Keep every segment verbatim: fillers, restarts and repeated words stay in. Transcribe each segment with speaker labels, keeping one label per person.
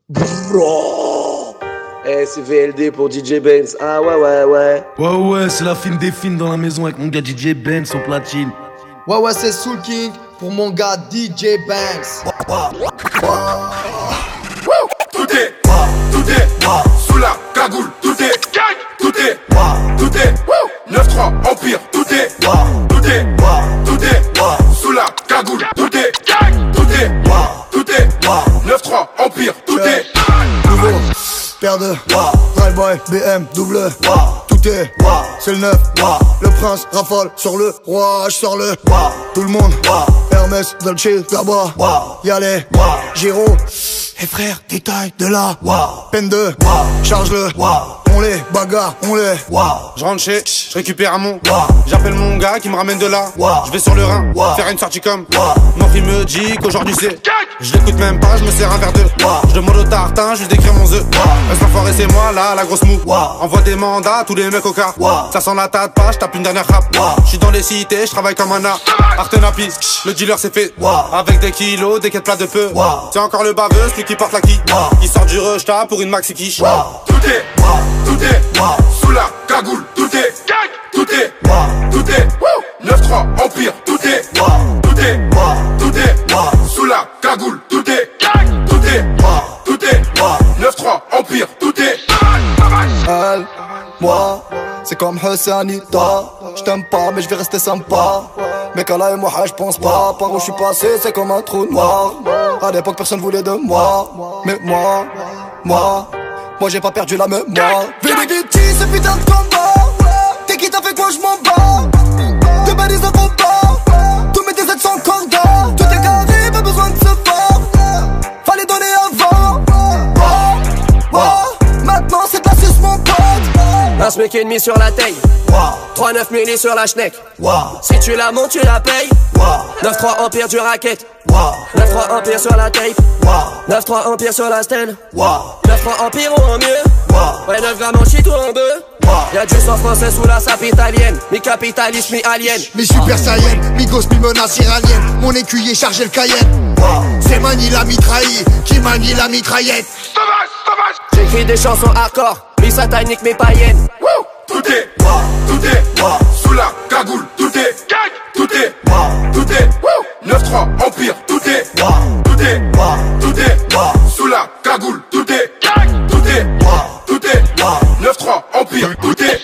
Speaker 1: Bro. Eh, c'est V L D pour D J Benz. Ah ouais, ouais, ouais.
Speaker 2: Ouais, ouais, c'est la fine des fines dans la maison avec mon gars D J Benz au platine.
Speaker 3: Ouais, ouais, c'est Soul King pour mon gars D J Benz.
Speaker 4: Tout est, tout est, sous la cagoule, tout est, tout est, tout est, neuf trois Empire, tout est, tout est, tout est, sous la cagoule, tout est, tout est, tout est, neuf trois Empire, tout est.
Speaker 3: Nouveau, paire de Drive-Boy, B M, double, tout est, c'est le neuf, le prince rafale sur le roi, je sors le, tout le monde, Hermès, Dolce, là-bas, y'a les, Giro. Et frère, détail de la peine de charge-le, on les bagarre, on les.
Speaker 5: Je rentre chez, je récupère un mon. J'appelle mon gars qui me ramène de là. Je vais sur le Rhin, faire une sortie comme. Mon frère me dit qu'aujourd'hui c'est. Je l'écoute même pas, je me sers un verre d'eux. Je demande au tartin, je lui décris mon œuf. Reste l'enfoiré, c'est moi là, la grosse mou. Envoie des mandats à tous les mecs au car. Ça sent la tête pas, je tape une dernière rap. Je suis dans les cités, je travaille comme un art. Artenapi, le dealer c'est fait. Avec des kilos, des quêtes plats de peu. C'est encore le baveux, celui qui porte la qui. Qui sort du rejta pour une maxi quiche.
Speaker 4: Tout est, tout est, sous la cagoule, tout est, tout est, tout est, neuf trois Empire, tout est, tout est, tout est, sous la cagoule, tout est, tout est, tout est, neuf trois Empire, tout est.
Speaker 3: Elle, moi, c'est comme Hassanita. J't'aime pas mais je vais rester sympa. Mais qu'Allah et moi je pense pas. Par où je suis passé c'est comme un trou noir. À l'époque personne voulait de moi. Mais moi, moi, moi j'ai pas perdu la mémoire. Vérité ce putain de combat. T'es qui t'as fait quoi je m'en bats. De balises de combat. Tous mes déserts sont cordons. Tout est carré, pas besoin de se voir. Fallait donner avant. Oh, oh, maintenant c'est de la suce mon pote.
Speaker 6: Un smic et demi sur la taille. trois neuf milli sur la schneck. Si tu la montes, tu la payes. neuf trois Empire du racket. neuf trois Empire sur la tape. neuf trois Empire sur la stand. neuf trois Empire ou en mieux. Ouais, neuf grammes en shit ou en bœuf. Y'a du sang français sous la sape italienne. Mi capitaliste, mi alien.
Speaker 3: Mi super saiyan, mi gosse, mi menace iranienne. Mon écuyer chargé le Cayenne. C'est Mani la mitraille qui manie la mitraillette.
Speaker 6: J'écris des chansons hardcore, mi satanique, mi païenne.
Speaker 4: Tout est, tout est, sous la cagoule, tout est, tout est, tout est, neuf trois Empire, tout est, tout est, tout est, sous la cagoule, tout est, tout est, tout est, neuf trois Empire, tout est.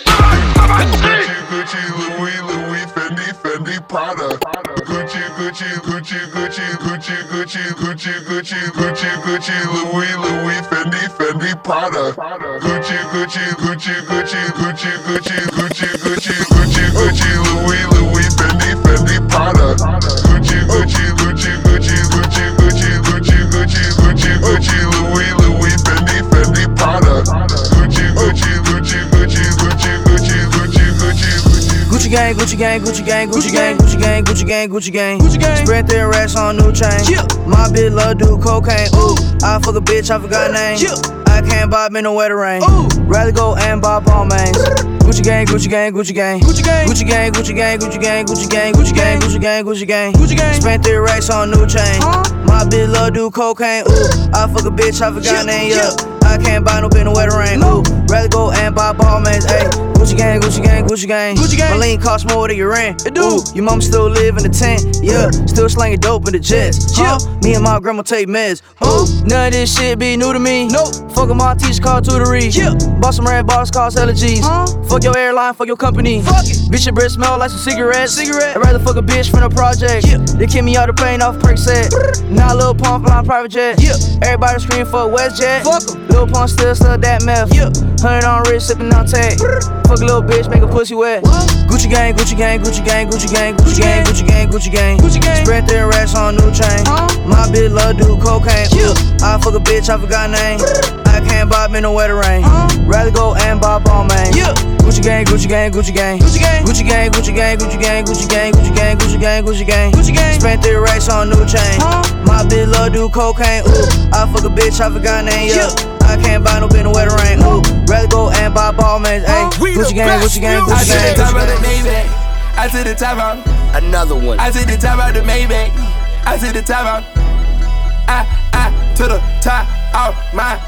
Speaker 7: Gucci, Louis, Louis, Fendi, Fendi, Prada. Gucci, Gucci, Gucci, Gucci, Gucci, Gucci, Gucci, Gucci, Gucci, Gucci, Louis, Louis, Fendi, Fendi, Prada. Gucci, Gucci, Gucci, Gucci, Gucci, Gucci, Gucci, Gucci, Gucci, Gucci, Louis, Louis, Fendi, Fendi, Prada. Gucci, Gucci, Gucci, Gucci, Gucci, Gucci, Gucci, Gucci, Gucci, Gucci, Louis, Louis, Fendi, Fendi, Prada. Gucci, Gucci, Gucci, Gucci, Gucci, Gucci, Gucci, Gucci,
Speaker 8: Gucci gang, Gucci gang, Gucci gang, Gucci gang, Gucci gang, Gucci gang, Gucci gang, Gucci gang. Spread their racks on new chain. My bitch love do cocaine. Ooh, I fuck a bitch, I forgot name. I can't buy me no wetter rain. Rather go and buy ball mains. Gucci gang, Gucci gang, Gucci gang, Gucci gang, Gucci gang, Gucci gang, Gucci gang, Gucci gang, Gucci gang, Gucci gang, Gucci gang, Gucci gang. Spent their racks on new chain. My bitch love do cocaine. Ooh, I fuck a bitch, I forgot name. Yeah, I can't buy no bitch no wetter rain. Ooh, rather go and buy ball mains. Ayy. Gucci gang, Gucci gang, Gucci gang, Gucci gang. My lean cost more than your rent. It do. Ooh, your mama still live in the tent. Yeah, still slanging dope in the jets. Huh? Me and my grandma take meds. Ooh, none of this shit be new to me. Nope. Fuck with my teacher called tutory. Yeah. Bought some red bottles called allergies. Huh? Fuck your airline, fuck your company. Fuck it. Bitch, your breath smell like some cigarettes. Cigarette. I'd rather fuck a bitch from the project. Yeah. They kick me out the plane off perk set. Now Lil Pump flying private jet. Yeah. Everybody scream for WestJet. Fuck em. Lil Pump still stuck that meth. Yeah. Hundred on wrist, sipping on tag. Fuck a little bitch, make a pussy wet. What? Gucci gang, Gucci gang, Gucci gang, Gucci gang, Gucci gang, Gucci gang, Gucci gang, Gucci gang. Spread their racks on new chain. Huh? My bitch love do cocaine. Yeah. I fuck a bitch, I forgot name. I can't buy me no wetter rain. Huh? Rather go and buy ball main. Yeah. Gucci gang, Gucci gang, Gucci gang, Gucci gang, Gucci gang, Gucci gang, Gucci gang, Gucci gang, Gucci gang, Gucci gang, Gucci gang, Gucci gang. Spent their racks on new chain. Huh? My bitch love do cocaine. Ooh, I fuck a bitch, I forgot name. Yeah. I can't buy no bitch no wetter rain. Ooh, rather go and buy ball mains. Ayy, Gucci gang, Gucci gang, Gucci gang, Gucci gang.
Speaker 9: I took the top out.
Speaker 1: Another one.
Speaker 9: I took the top out the Maybach. I took the top out. I, I, to the top out my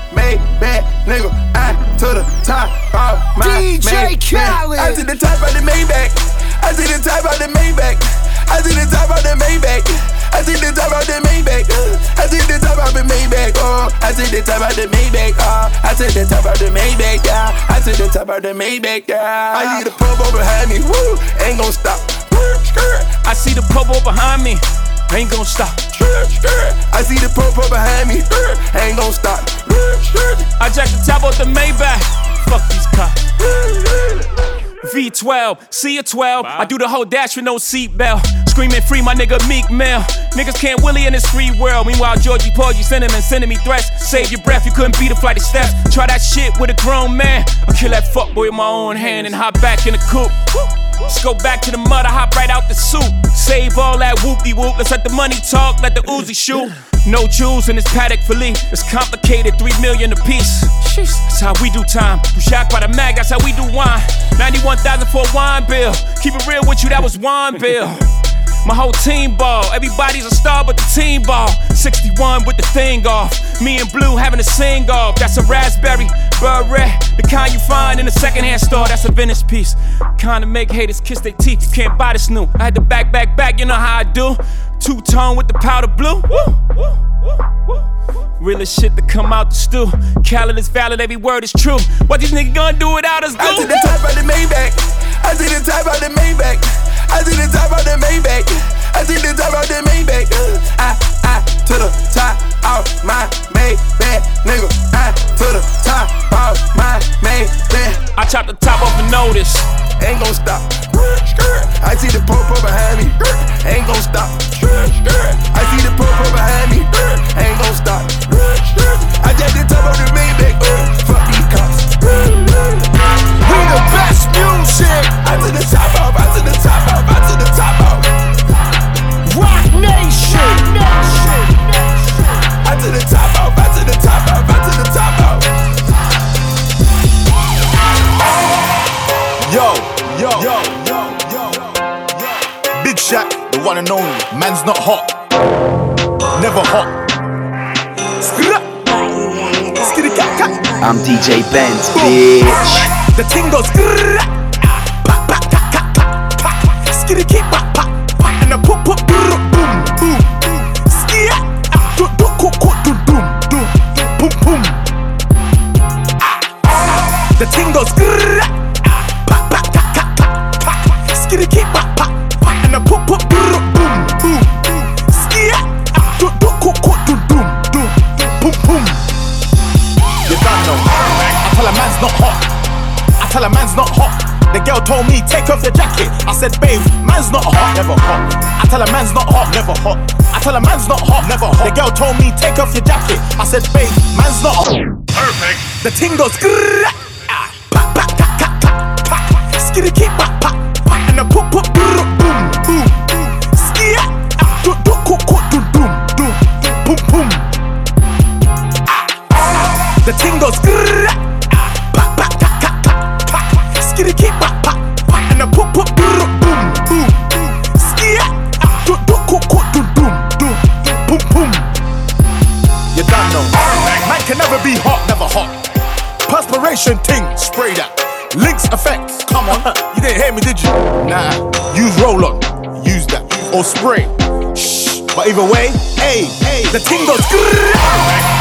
Speaker 10: D J Khaled.
Speaker 9: I see the top of the Maybach. I see the top of the Maybach. I see the top of the Maybach. I see the top of the Maybach. I see the top of the Maybach. Oh, I see the top of the Maybach. Oh, I see the top of the Maybach. Yeah, I see the top of the Maybach. Yeah, I see the purple behind me. Woo, ain't gon' stop.
Speaker 11: I see the purple behind me. Ain't gon' stop.
Speaker 9: I see the purple behind me. Ain't gon' stop.
Speaker 11: I jack the top of the Maybach. Fuck these cops. V twelve, C a twelve. Wow. I do the whole dash with no seatbelt. Screaming free my nigga Meek Mill. Niggas can't willy in this free world. Meanwhile, Georgie Porgy sending and sending me threats. Save your breath, you couldn't beat a flight of steps. Try that shit with a grown man. I'll kill that fuckboy with my own hand and hop back in the coupe. Let's go back to the mud, I hop right out the soup. Save all that whoop-de-whoop, let's let the money talk, let the Uzi shoot. No jewels in this paddock Philippe, it's complicated, three million a piece. That's how we do time, you shocked by the mag, that's how we do wine. ninety-one thousand for a wine bill, keep it real with you, that was wine bill. My whole team ball, everybody's a star but the team ball. sixty-one with the thing off, me and Blue having a sing off. That's a raspberry, beret, the kind you find in a secondhand store. That's a vintage piece, kind of make haters kiss their teeth. You can't buy this new. I had to back, back, back, you know how I do. Two-tone with the powder blue. Woo, woo, woo, woo. Realest shit to come out the stew. Khaled is valid, every word is true. What these niggas gonna do without us? Do?
Speaker 9: I see the top of the Maybach. I see the top of the Maybach. I see the top of the Maybach. I see the top of the Maybach. I, I, to the top of my Maybach, nigga. I, to the top of my Maybach.
Speaker 11: I chop the top off a notice.
Speaker 9: Ain't gon' stop. I see the purple behind me. Ain't gon' stop. I see the purple behind me. Ain't gon' stop. I just the top of the Maybach. Fuck these cops.
Speaker 10: We the best music.
Speaker 9: I to the top of. I to the top of. I to the top of.
Speaker 10: Rock Nation.
Speaker 9: I to the top of. I to the top of. I to the top of.
Speaker 12: Yo, yo, yo, yo, yo, yo. Big Shaq, the one and only. Man's not hot, never hot.
Speaker 13: I'm D J Benz, bitch.
Speaker 12: The ting goes skitty keep pop pop and the pop pop boom boom skia do do cook cook do boom boom boom boom. The ting goes skitty keep pop pop and the pop pop boom boom skia do do cook cook do boom boom boom boom. You don't know. I tell a man's not hot. I tell a man's not hot. The girl told me, take off your jacket. I said, babe, man's not hot, never hot. I tell a man's not hot, never hot. I tell a man's not hot, never hot. The girl told me, take off your jacket. I said, babe, man's not hot. Perfect. The ting goes skitty keep pop pop and the pop pop boom boom skia do do cook cook do boom boom boom boom. The ting goes skitty keep pop pop and the pop pop boom boom skia do do cook cook do boom boom boom boom. You don't know. Man can never be hot, never hot. Perspiration ting, spray that. Lynx effects, come on. You didn't hear me, did you? Nah. Use roll on, use that or spray. Shh. But either way, hey, hey, the ting goes good.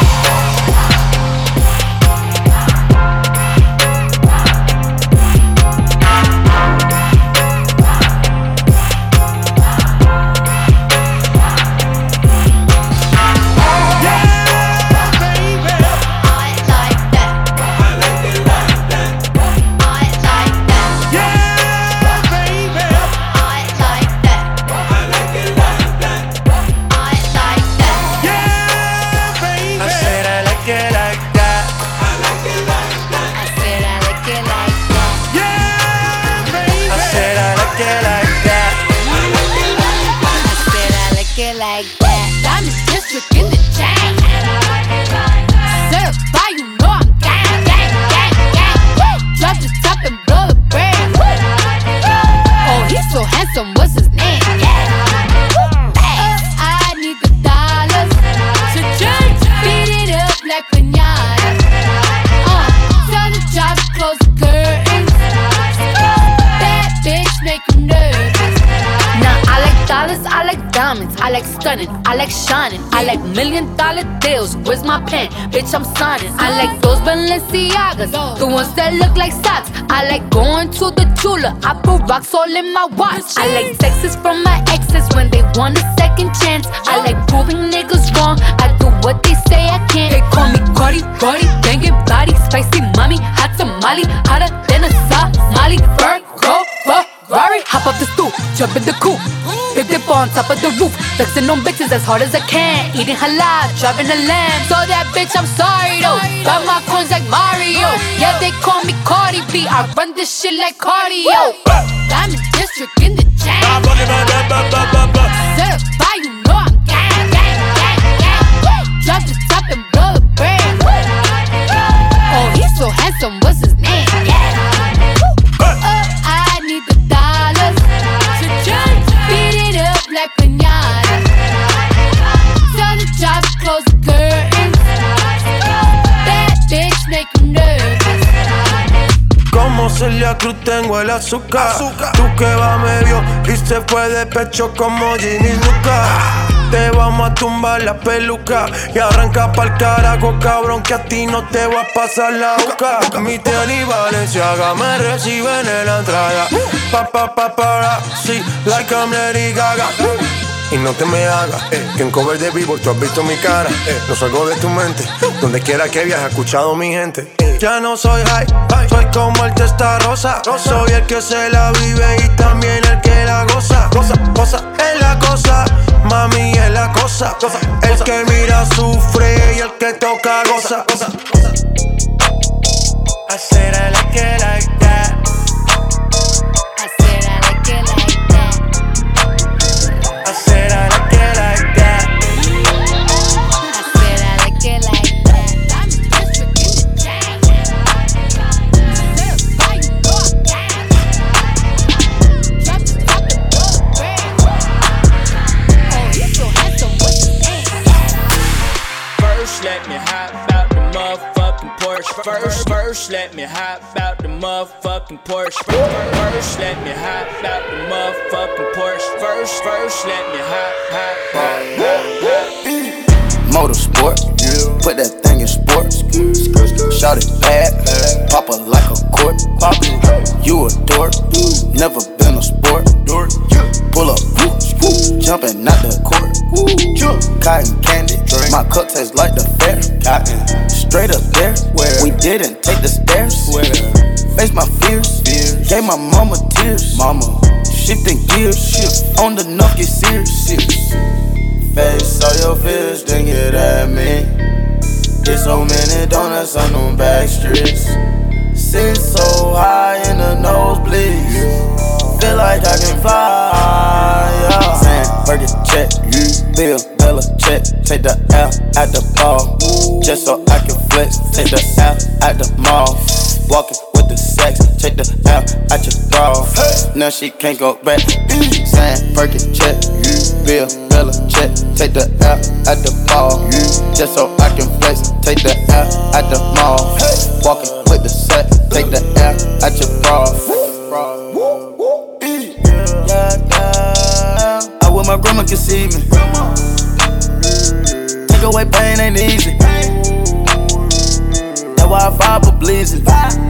Speaker 14: diamonds, I like stunning, I like shining, I like million dollar deals. Where's my pen? Bitch, I'm signing. I like those Balenciagas, the ones that look like socks. I like going to the Tula, I put rocks all in my watch. I like texts from my exes when they want a second chance. I like proving niggas wrong, I do what they say I can't. They call me Cardi, Cardi, banging body, spicy mommy, hot tamale, hotter than a Somali. Virgo, Ferrari, hop up the stoop, jump in the coupe, big dip on top of the roof, flexing on bitches as hard as I can, eating halal, driving a lamb. So that bitch, I'm sorry though, got my coins like Mario. Yeah, they call me Cardi B, I run this shit like cardio. Diamond District in the jam. Certified, you know I'm gang, gang, gang, gang. Drop the top and blow the brand. Oh, he's so handsome, what's his name? Yeah. Oh, I need the dollars to jump, beat it up like piñata. Tell the job to close the curtains. That bitch make him nervous.
Speaker 15: Como Celia Cruz tengo el azúcar. Tú que va medio y se fue de pecho como Ginny Luca. Te vamos a tumbar la peluca y arranca pa'l carajo, cabrón, que a ti no te va a pasar la boca. Mi tenis Balenciaga me reciben en la entrada. Pa pa pa para, sí, like I'm Lady Gaga. Y no te me hagas, eh, que en cover de Billboard tú has visto mi cara, eh, no salgo de tu mente, donde quiera que viajes, he escuchado mi gente. eh. Ya no soy high, soy como el Testarossa, soy el que se la vive y también el que la goza. Goza, goza, es la cosa, mami es la cosa, cosa el cosa. Que mira sufre y el que toca goza. goza, goza. I said I like it like that.
Speaker 14: I said I like it like that.
Speaker 15: I said I like it like that.
Speaker 14: I said I like it like that. I'm just in the jam. Certified, you know I'm gang. Drop the top and blow the brand. Oh, he's so handsome, what's his name?
Speaker 11: First, let me hop out the motherfucking Porsche. First, first, let me hop out the motherfucking Porsche. First, let me hop out the motherfucking Porsche. First, first, let me hop, hop, hop, hop, hop.
Speaker 3: Motorsport, put that thing in sports. Shout it bad, pop it like a court. You a dork, never been a sport. Pull up, jumping out the court. Cotton candy, my cup tastes like the fair. Straight up there, we didn't take the stairs. Face my fears, gave my mama tears. Mama, shifting gears, on the nuff get serious. Face all your fears, then get at me. Get so many donuts on them back streets. Sit so high in the nosebleeds. Feel like I can fly, yeah. Saying, Burger check, Bill, Bella check. Take the L at the ball, just so I can flex. Take the L at the mall, walking with the sex. Take the L at your bra, now she can't go back. Saying, Burger check, Bill, Bella check. Take the L at the ball, just so I can flex. Take the L at the mall, walking with the sex. Take the L at your bra. Yeah, yeah. I wish my grandma could see me. Take away pain ain't easy. That's why I fire for bleeding.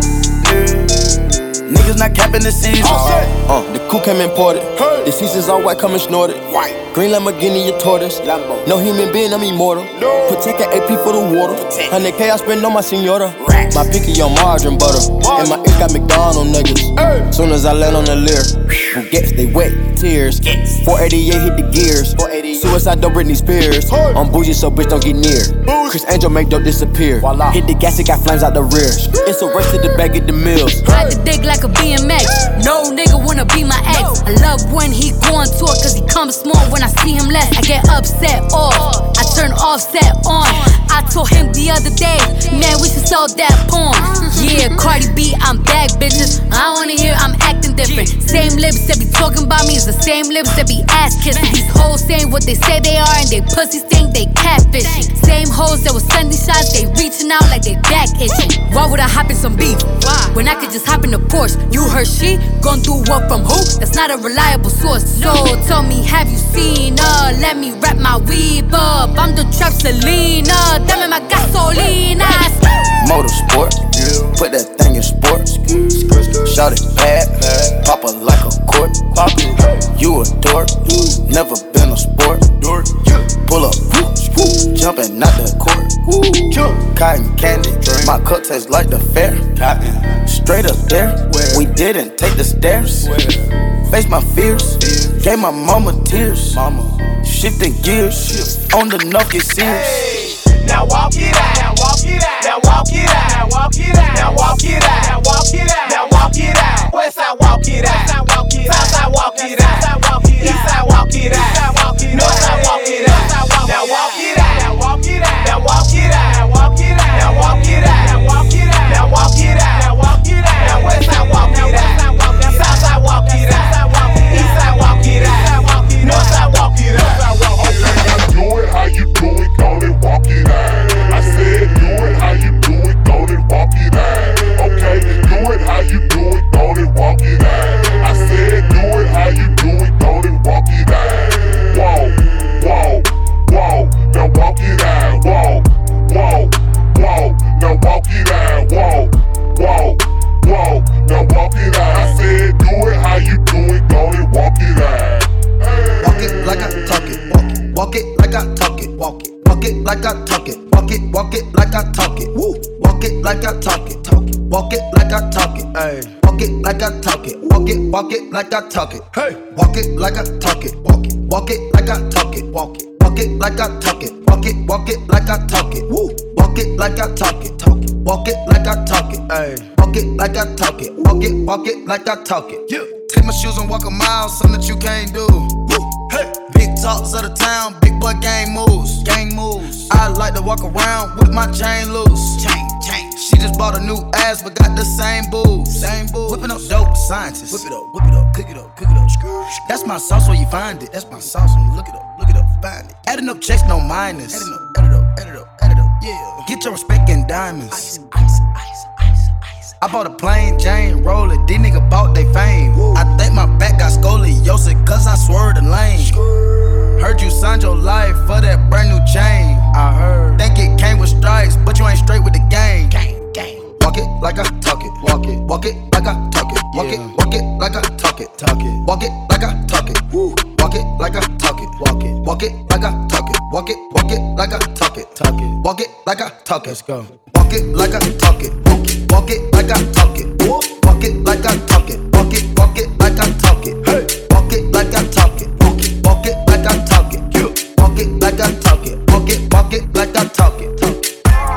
Speaker 3: Niggas not capping the season. Uh, the coupe came imported. The seasons all white, coming snorted. Green Lamborghini, your tortoise. No human being, I'm immortal. Protect an A P for the water. one hundred K I spend on my senora. My picky on margarine butter. And my ink got McDonald's niggas. Soon as I land on the Lear, who gets they wet tears. four eighty-eight hit the gears. Suicide don't Britney Spears. I'm bougie so bitch don't get near. Chris Angel make dope disappear. Hit the gas, it got flames out the rear. It's a race to the bag at the mills.
Speaker 14: Ride the dick like a B M X. No nigga wanna be my ex. I love when he go on tour cause he comes small. When I see him less, I get upset off. I turn offset on. I told him the other day, man, we should sell that porn. Yeah, Cardi B, I'm back, bitches. I wanna hear I'm acting something different. Same lips that be talking about me is the same lips that be ass kissing. These hoes saying what they say they are and they pussies think they catfish. Same hoes that was sending shots, they reaching out like they back itching. Why would I hop in some beef? Why? When I could just hop in the Porsche. You heard she gon' do what from who? That's not a reliable source. So tell me, have you seen her? Let me wrap my weave up. I'm the trap Selena. Dame my gasolina.
Speaker 3: Motorsport, put that thing in sports. Shout it bad, pop it like a court. You a dork, never been a sport. Pull up, jumping out the court. Cotton candy, my cup tastes like the fair. Straight up there, we didn't take the stairs. Face my fears, gave my mama tears. Shifting gears, on the knock get serious.
Speaker 12: Now walk it out, now walk it out, now walk it out, now walk it out, now walk it out, now walk it out, now walk it out. West side walk it out, south side walk it out, east side walk it out, north side walk it out. Now walk it out, now walk it out, now walk it out, now walk it out, now walk it out, now walk it out, now walk it out, now walk it out. Now west side walk it out, south side walk it out, east side walk it out, north side walk it out.
Speaker 7: Do it how you do it, go and walk it out. I said do it how you do it, go and walk it out. Okay, do it how you do it, go and walk it out. I said do it how you do it, go and walk it out. Whoa, whoa, whoa, now walk it out. Whoa, whoa, whoa, now walk it out. Whoa, whoa, whoa, now walk it out. I said do it how you do it, go and walk it out.
Speaker 3: Walk it like I talk it, walk it, walk it like I talk it, walk it, walk it like I talk it, walk it, walk it like I talk it, woo, walk it like I talk it, talk it, walk it like I talk it, ay, walk it like I talk it, walk it, walk it like I talk it, hey, walk it like I talk it, walk it, walk it like I talk it, walk it, walk it like I talk it, walk it, walk it like I talk it, woo, walk it like I talk it, talk it, walk it like I talk it, ay, walk it like I talk it, walk it, walk it like I talk it, yeah. Take my shoes and walk a mile, something that you can't do. Woo. Hey. Big talks of the town, big boy gang moves. Gang moves. I like to walk around with my chain loose. Chain, chain. She just bought a new ass, but got the same boobs. Same boobs. Whipping up dope scientists. Whip it up, whip it up, cook it up, cook it up. That's my sauce where you find it. That's my sauce when you look it up, look it up, find it. Adding up checks, no minus. Adding up, add it up, add it up, add it up. Yeah. Get your respect in diamonds. Ice, ice, ice, ice. I bought a plain Jane roller, these niggas bought they fame. Woo. I think my back got scoliosis, cause I swerved the lane. Skrr. Heard you signed your life for that brand new chain. I heard. Think it came with stripes, but you ain't straight with the game. Gang, gang. Walk it like I talk it, walk it, walk it like I talk it, walk yeah. it, walk it like I talk it, talk it, walk it like I talk it, woo. Walk it like I talk it, walk it, walk it like I talk it, walk it, walk it like I talk it, talk it, walk it like I talk it. Let's go. Walk it like I talk it, walk it, walk it like I talk it, walk it like I talk it, walk it, walk it like I talk it, hey, walk it like I talk it, walk it, walk it like I talk it, yeah. Walk it like I talk it, walk it, walk it like I talk it, talk it.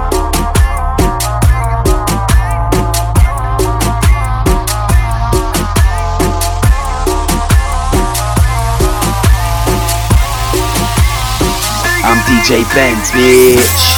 Speaker 13: I'm D J Benz, bitch.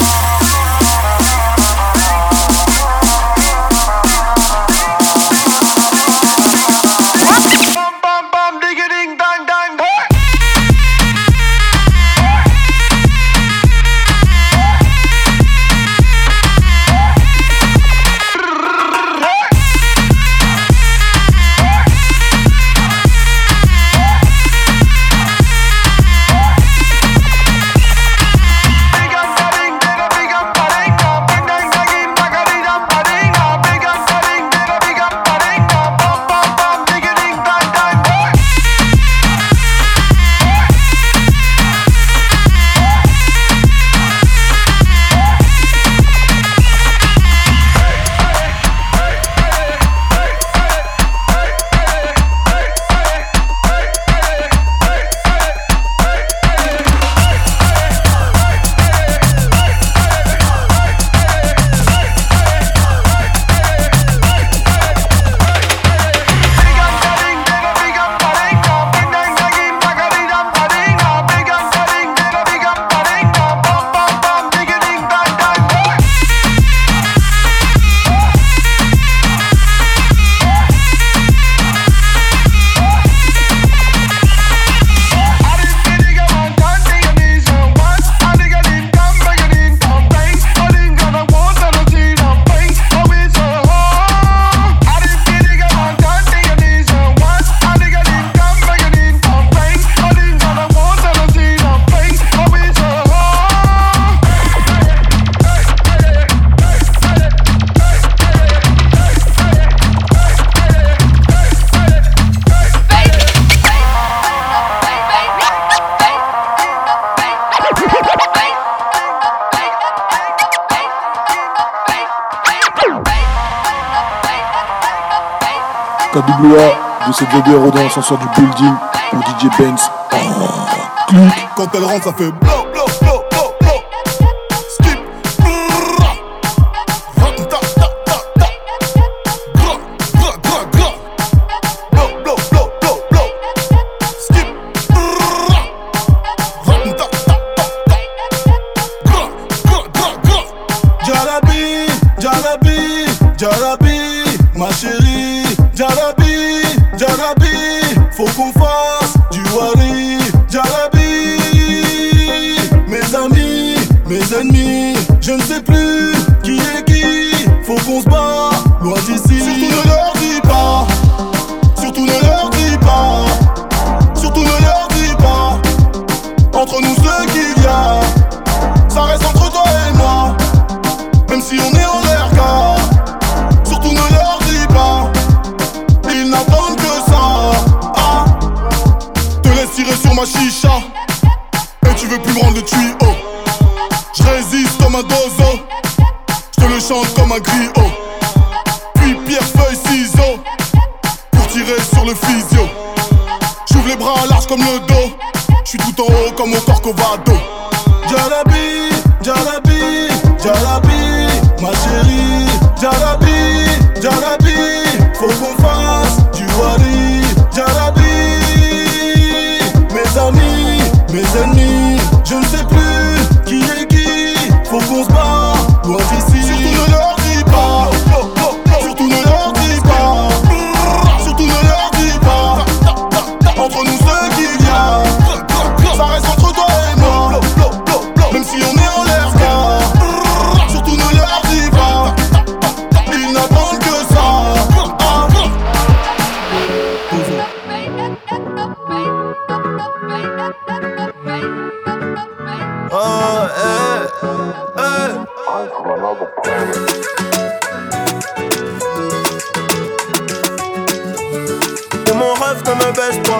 Speaker 16: K W A de cette V B R dans l'ascenseur du building pour D J Benz. Oh, clic.
Speaker 3: Quand elle rentre, ça fait blow, blow, blow, blow, blow. Skip. Ta, ta, ta, ta. Gra, gra, gra, gra. Blow, blow, blow, blow, blow. Skip. Ta, ta, ta, ta. Gra, gra, gra, gra. Jarabi, Jarabi, Jarabi, ma chérie. Jarabi, Jarabi, faut qu'on fasse du wari. Jarabi, mes amis, mes ennemis, je ne sais plus qui est qui. Faut qu'on se bat loin d'ici. Surtout ne leur dis pas, surtout ne leur dis pas, surtout ne leur dis pas. Entre nous ce qu'il y a, ça reste entre toi et moi. Même si on est en l'air car, surtout ne leur dis pas. Ils n'attendent que ça. Ah, te laisse tirer sur ma chicha et tu veux plus me rendre le tuyau. Je résiste comme un dozo, je te le chante comme un griot. Puis pierre, feuille, ciseaux pour tirer sur le physio. J'ouvre les bras larges comme le dos, je suis tout en haut comme mon Corcovado. Jarabi, Jarabi, Jarabi, ma chérie. Jarabi, Jarabi, faut qu'on fasse du wari. Jarabi, mes amis, mes ennemis, je ne sais plus qui est qui. Faut qu'on se bat loin d'ici. Surtout ne leur dis pas, surtout ne leur dis pas, surtout ne leur dis pas. Entre nous ce qu'il y a, ça reste entre toi et moi. Même si on est en l'air car, surtout ne leur dis pas. Ils n'attendent que ça. Oh, eh, eh.
Speaker 15: Et mon rêve ne me baisse pas.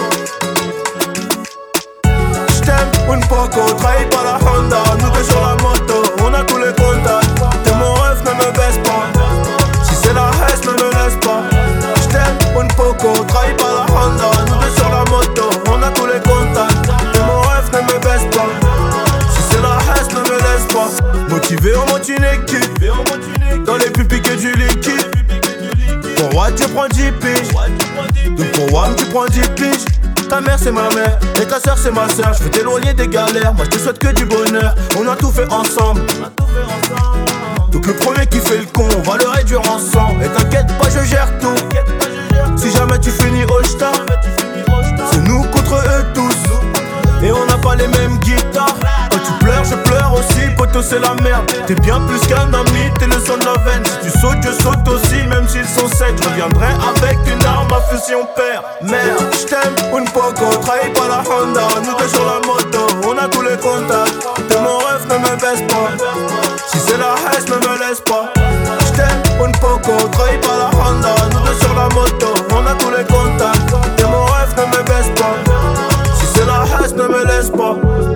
Speaker 15: J't'aime une poco, trahis par la Honda. Nous deux sur la moto, on a tous les contacts. Et mon rêve ne me baisse pas. Si c'est la haine, ne me laisse pas. J't'aime une poco, trahis par la Honda. Nous deux sur la moto, on a tous les contacts. Et mon rêve ne me baisse pas. Si c'est la haine, ne me laisse pas. Motivé, on monte une équipe. Dans les plus piqués du liquide. Pour Watt, tu prends dix piges. Donc pour Wam, tu prends dix piges. Ta mère c'est ma mère et ta soeur c'est ma soeur. Je veux t'éloigner des galères, moi je te souhaite que du bonheur. On a tout fait ensemble. Donc le premier qui fait le con, on va le réduire ensemble. Et t'inquiète pas, je gère tout. Si jamais tu finis au star, c'est nous contre eux tous. Et on n'a pas les mêmes guitares. Quand tu pleures, je pleure aussi, poto c'est la merde. T'es bien plus qu'un ami, t'es le son de la veine. Si tu sautes, je saute aussi, même s'ils sont secs. Je reviendrai avec une arme à feu si on perd. Merde, j't'aime, une poco, trahi par la Honda. Nous deux sur la moto, on a tous les contacts. T'es mon rêve, ne me baisse pas. Si c'est la haine, ne me laisse pas. J't'aime, une poco, trahi par la Honda. Nous deux sur la moto, on a tous les contacts. T'es mon rêve, ne me baisse pas. Si c'est la haine, ne me laisse pas.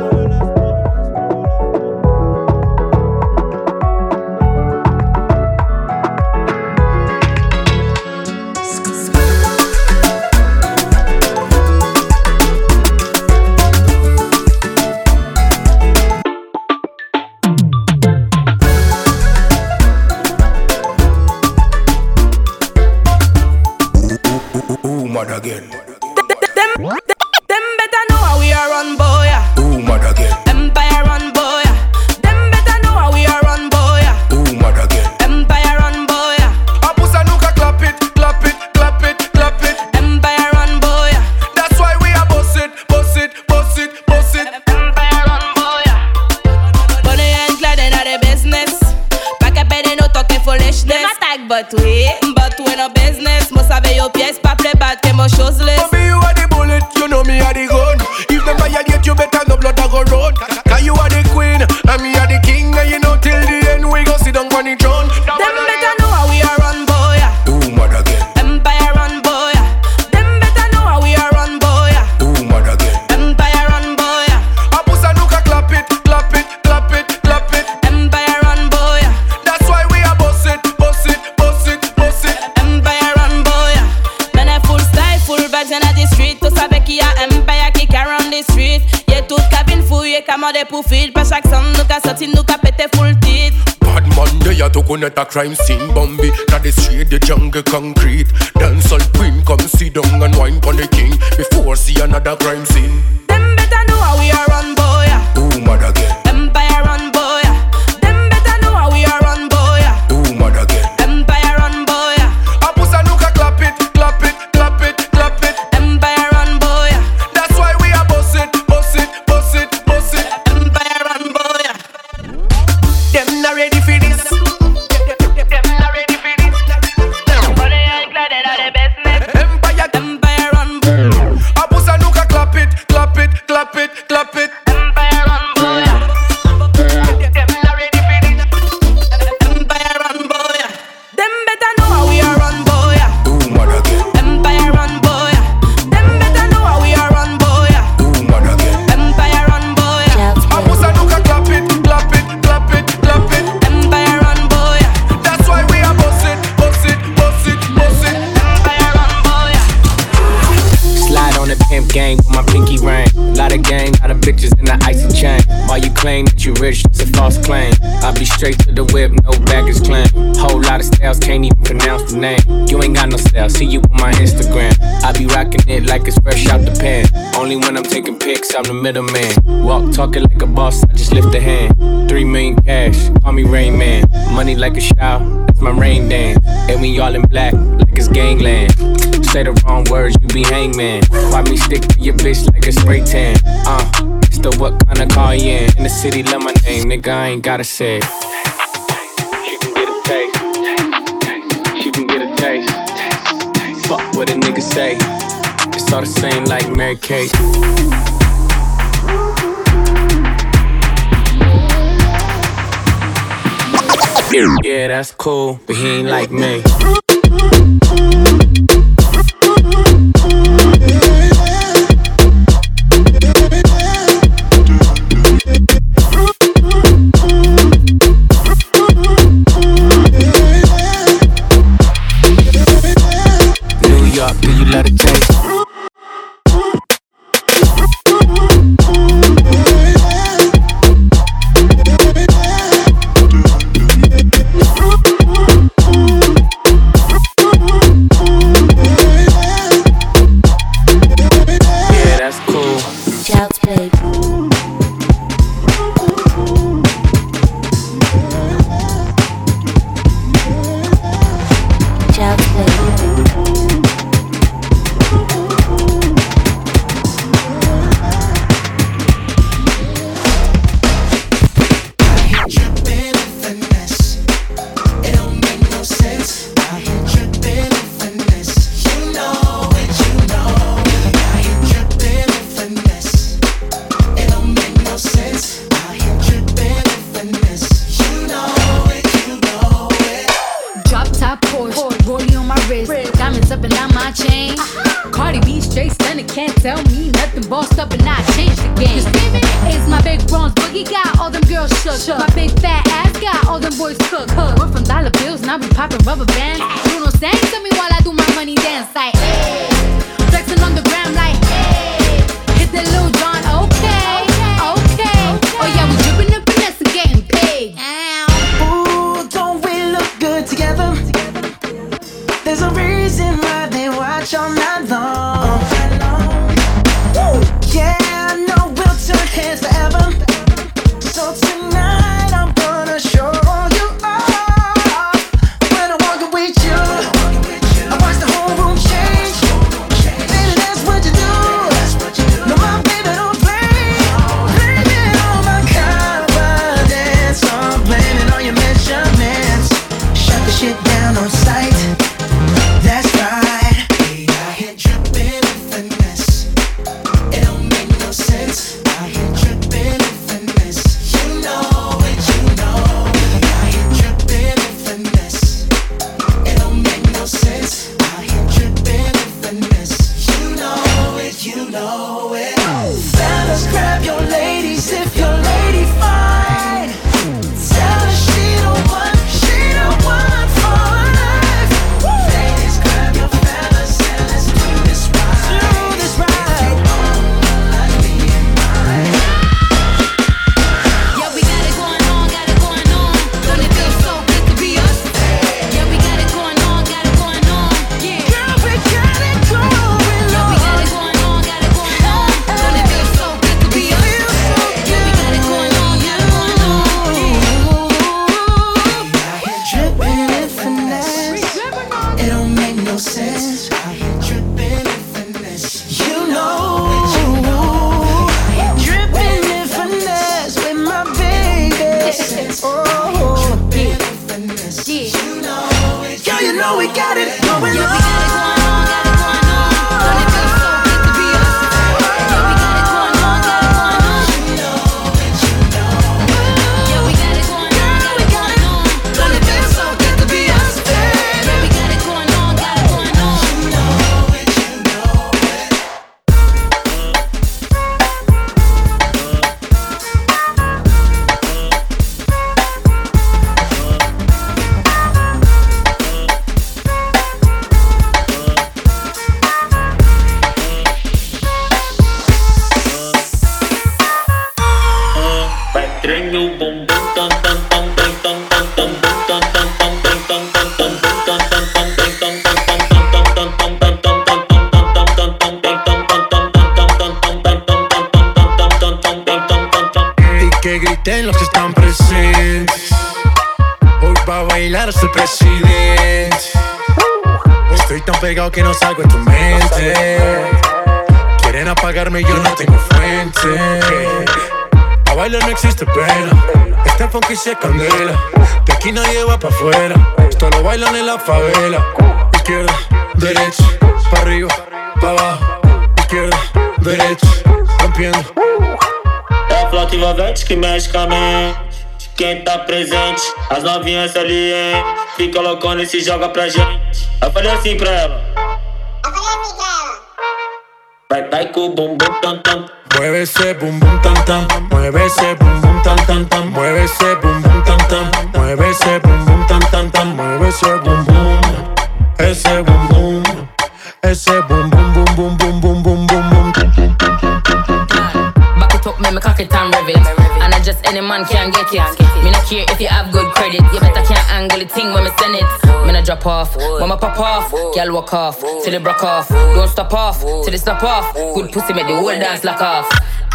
Speaker 10: Again.
Speaker 17: Them, them, them better know how we are run, boy.
Speaker 10: Ooh, mad again.
Speaker 17: Empire run, boy. Them better know how we are run, boy.
Speaker 10: Ooh, mad again.
Speaker 17: Empire run, boy.
Speaker 9: Apusa nuka clap it, clap it, clap it, clap it.
Speaker 17: Empire run, boy.
Speaker 9: That's why we are boss it, boss it, boss it, boss it.
Speaker 17: Empire run, boy. Bonnie and Clyde in the business. Back up and no talking foolishness. Them attack, but we, but we no business. Must have your pièce, pas play bad, que mon chose list.
Speaker 9: Baby, you are the bullet, you know me are the gun. If them violate, you better no blood a go road. Cause you are the queen, and me are the king. And you know till the end, we go sit down on the throne.
Speaker 17: Them better know how we are run, boy.
Speaker 10: Ooh, mad again.
Speaker 17: Empire run, boy. Them better know how we are run, boy.
Speaker 10: Ooh, mad again.
Speaker 17: Empire run, boy.
Speaker 9: Apusa nuka clap it, clap it, clap it, clap it.
Speaker 17: Empire run, boy.
Speaker 9: That's why we are boss it, boss it, boss it, boss it.
Speaker 17: Empire run, boy.
Speaker 10: Empire to connect a crime scene. Bambi, that the street, the jungle concrete. Dancehall queen, come sit down and wine pon the king before see another crime scene.
Speaker 17: Them better know how we are run, boy.
Speaker 10: Ooh, mad again.
Speaker 17: Empire run, boy. Them better know how we are run, boy.
Speaker 10: Ooh, mad again.
Speaker 17: Empire run, boy.
Speaker 10: Apusa nuka clap it, clap it, clap it, clap it.
Speaker 17: Empire run, boy.
Speaker 10: That's why we are boss it, boss it, boss it, boss it.
Speaker 17: Empire run, boy.
Speaker 15: Them not ready for this.
Speaker 17: Them not ready for this. But they ain't glad they are the business.
Speaker 10: Empire,
Speaker 17: Empire run, boy.
Speaker 10: Apusa nuka clap it, clap it, clap it, clap it.
Speaker 17: Empire run, boy. Them not ready for this. Empire run, boy. Them better know how we are run, boy.
Speaker 10: Ooh, mad again.
Speaker 17: Empire run, boy. Them better know how we are run, boy.
Speaker 10: Ooh, mad again.
Speaker 17: Empire run, boy.
Speaker 10: Apusa nuka clap it, clap it, clap it, clap it.
Speaker 17: Empire run, boy.
Speaker 10: That's why we are boss it, boss it, boss it, boss it.
Speaker 17: Empire run, boy.
Speaker 18: Slide on the pimp game with my pinky ring. Lot of gang, lot of bitches in the icy chain. While you claim that you rich, that's a false claim. I be straight to the whip, no baggage claim. Whole lot of styles, can't even pronounce the name. You ain't got no style, see you on my Instagram. I be rocking it like it's fresh out the pan. Only when I'm taking pics, I'm the middleman. Walk talking like a boss, I just lift a hand. Three million cash, call me Rain Man. Money like a shower, that's my rain dance. And we all in black, like it's gangland. Say the wrong words, you be hangman. Why me stick to your bitch like a spray tan? Uh, it's the what kind of car you in? In the city, love my name, nigga, I ain't gotta say it. She can get a taste. She can get a taste. Fuck what a nigga say. It's all the same like Mary Kate. Yeah, that's cool, but he ain't like me. New York, do you let it taste? Yeah, that's cool.
Speaker 14: Child's play. Child's play.
Speaker 19: Drop top Porsche, rollie on my wrist, diamonds up and down my chain. Cardi B straight stunning, can't tell me nothing. Bossed up and I changed the game. You see me? It's my big bronze boogie got all them girls shook. My big fat ass got all them boys cook. We're from dollar bills, now we popping rubber bands. Bruno sang to me while I do my money dance like, hey. Flexing on the gram like, hey. Hit the Lil Jon, okay, okay. Oh yeah, we dripping and finesse and getting paid.
Speaker 15: Ooh, don't we look good together? There's a reason why they watch all night long. Woo! Yeah, I know we'll turn heads forever. So tonight I'm gonna show you off. When I walk with you, I watch the whole room change. Baby, that's what you do. No, my baby don't play. Blaming all my confidence, I'm blaming all your measurements. Shut the shit down on sight. That's right. I
Speaker 9: know we got it going
Speaker 19: Yeah,
Speaker 9: on.
Speaker 19: we got it going on, got it going on. Don't it feel so good to be us? Yeah, we got it going on, got it going on. Yeah, we got it going on, got it going on. Don't it feel so good to be us? Yeah, we got it going on, got it going on.
Speaker 15: Y que griten los que están presentes. Hoy va a bailar hasta el presidente. Estoy tan pegado que no salgo de tu mente. Quieren apagarme y yo no tengo fuente. A bailar no existe pena. Este funky se candela. De aquí nadie va pa' afuera. Esto lo bailan en la favela. Izquierda, derecha, pa' arriba, pa' abajo. Izquierda, derecha, rompiendo.
Speaker 20: É a flauta envolvente que mexe com a mente. Quem tá presente, as novinhas ali, hein? Fica loucona e se joga pra gente. Eu falei assim pra ela. Eu falei assim pra ela. Vai, vai com o bumbum tam tam.
Speaker 15: Mueve ese bum bum tam tam. Mueve ese bum bum tam tam tam. Mueve ese bum bum tam tam. Mueve ese bum bum tam tam tam. Mueve ese bum bum. Ese bum bum. Ese bum bum bum bum bum bum bum bum bum.
Speaker 21: Back it up, make me cock it and rev it. And I just any man can get it. Me not care if you have good credit. You better can't angle the thing when me send it. Me not drop off, when me pop off. Girl walk off, till it broke off. Don't stop off, till it stop off. Good pussy make the whole dance lock off.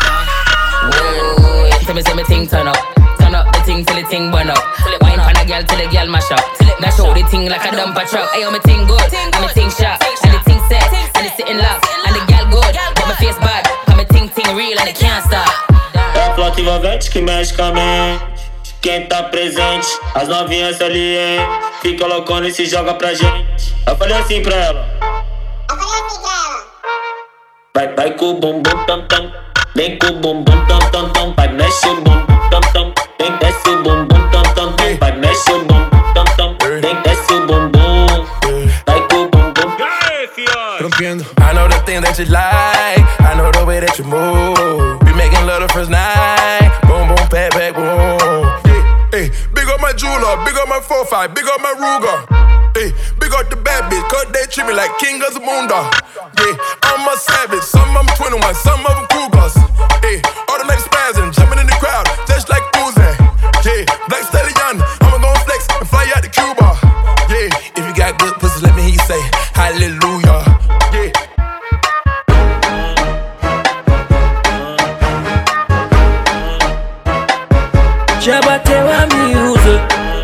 Speaker 21: Whoa, tell me say me thing turn up. Turn up the thing till the thing burn up. Wine on a girl till the girl mash up. Now show the thing like a dumper truck. Ayo, me thing good, and me thing sharp. And the thing set, and it's sitting locked. And the girl good, but my face bad. Cause me thing thing real and it can't stop.
Speaker 20: É a flauta envolvente que mexe com a mente. Quem tá presente, as novinhas ali, hein? Fica loucona e se joga pra gente. Eu falei assim pra ela. Eu falei assim pra ela. Vai, vai com o bumbum tam tam. Vem com o bumbum tam tam tam. Vai, mexe o bumbum tam tam. Vem, desce o bumbum tam tam tam. Vai, mexe o bumbum tam tam. Vem, desce o bumbum. Vai com o bumbum.
Speaker 15: Rompiendo.
Speaker 9: I know the thing that you like. I know the way that you move. Be making love the first night. Boom, boom, pat, pat, boom.
Speaker 4: Hey, big up my jeweler, big up my four five, big up my Ruger. Hey, big up the bad bitch, cause they treat me like King of Zamunda. Yeah, I'm a savage, some of them twenty-one, some of them Cougars. Hey, automatic spazzing, jumping in the crowd, just like Uzi. Yeah, Black Stallion, I'ma gon' flex and fly out to Cuba. Yeah, if you got good pussy, let me hear you say hallelujah. Yeah.
Speaker 22: Jabatewa music.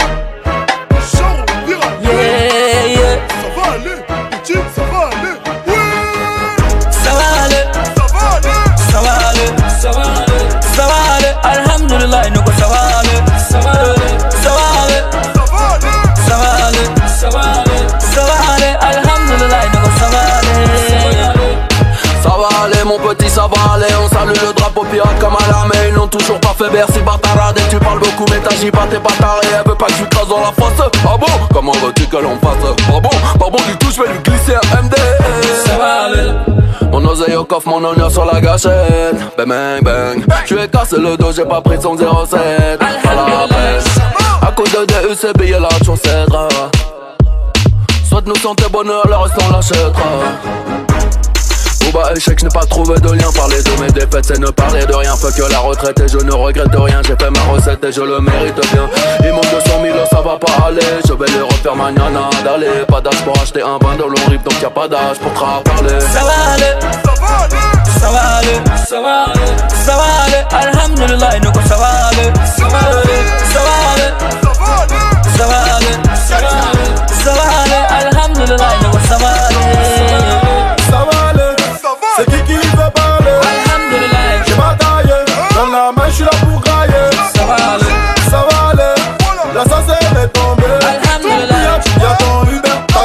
Speaker 22: Yeah, yeah.
Speaker 4: Ça va aller, petite, ça va aller.
Speaker 22: Ça va aller. Ça va aller. Ça va aller. Ça va aller. Alhamdulillah, nous ça va aller. Ça va aller. Ça va aller. Ça va aller. Ça va aller. Ça va aller. Alhamdulillah, nous ça va aller.
Speaker 1: Ça va aller mon petit, ça va aller. On salue le drapeau pirate comme à l'armée. Ils n'ont toujours pas fait Bercy, bâtarade. Et tu parles beaucoup mais t'agis pas, t'es pas taré. Elle veut pas que tu te casses dans la face. Ah bon? Comment veux-tu que l'on fasse? Ah bon? Pas bon du tout, je vais lui glisser un M D.
Speaker 22: Ça va aller.
Speaker 1: Mon oseille au coffre, mon honneur sur la gâchette. Bang bang bang. Je lui ai cassé le dos, j'ai pas pris son zéro sept. Pas la peine. À cause de D U C, billet la chaussette. Souhaite nous santé bonheur, le reste on l'achètera. Bah échec, je n'ai pas trouvé de lien. Parler de mes défaites, c'est ne parler de rien. Fuck que la retraite et je ne regrette rien. J'ai fait ma recette et je le mérite bien. Il manque deux cent mille, ça va pas aller. Je vais les refaire mañana d'aller. Pas d'âge pour acheter un bain de l'on rip, donc y'a pas d'âge pour te parler.
Speaker 22: Ça va aller. Ça va aller. Ça va aller. Ça va aller. Alhamdulillah, nous ça va aller. Ça va aller. Ça va aller. Ça va aller. Ça va aller. Ça va aller. Alhamdulillah, nous ça va aller.
Speaker 4: Ça va aller. C'est qui qui veut parler?
Speaker 22: Alhamdulillah.
Speaker 4: J'ai bataillé, dans la main j'suis là pour grailler.
Speaker 22: Ça va aller.
Speaker 4: Ça va aller. La sauce elle est tombée.
Speaker 22: Alhamdulillah.
Speaker 4: Y'a ton Uber, ta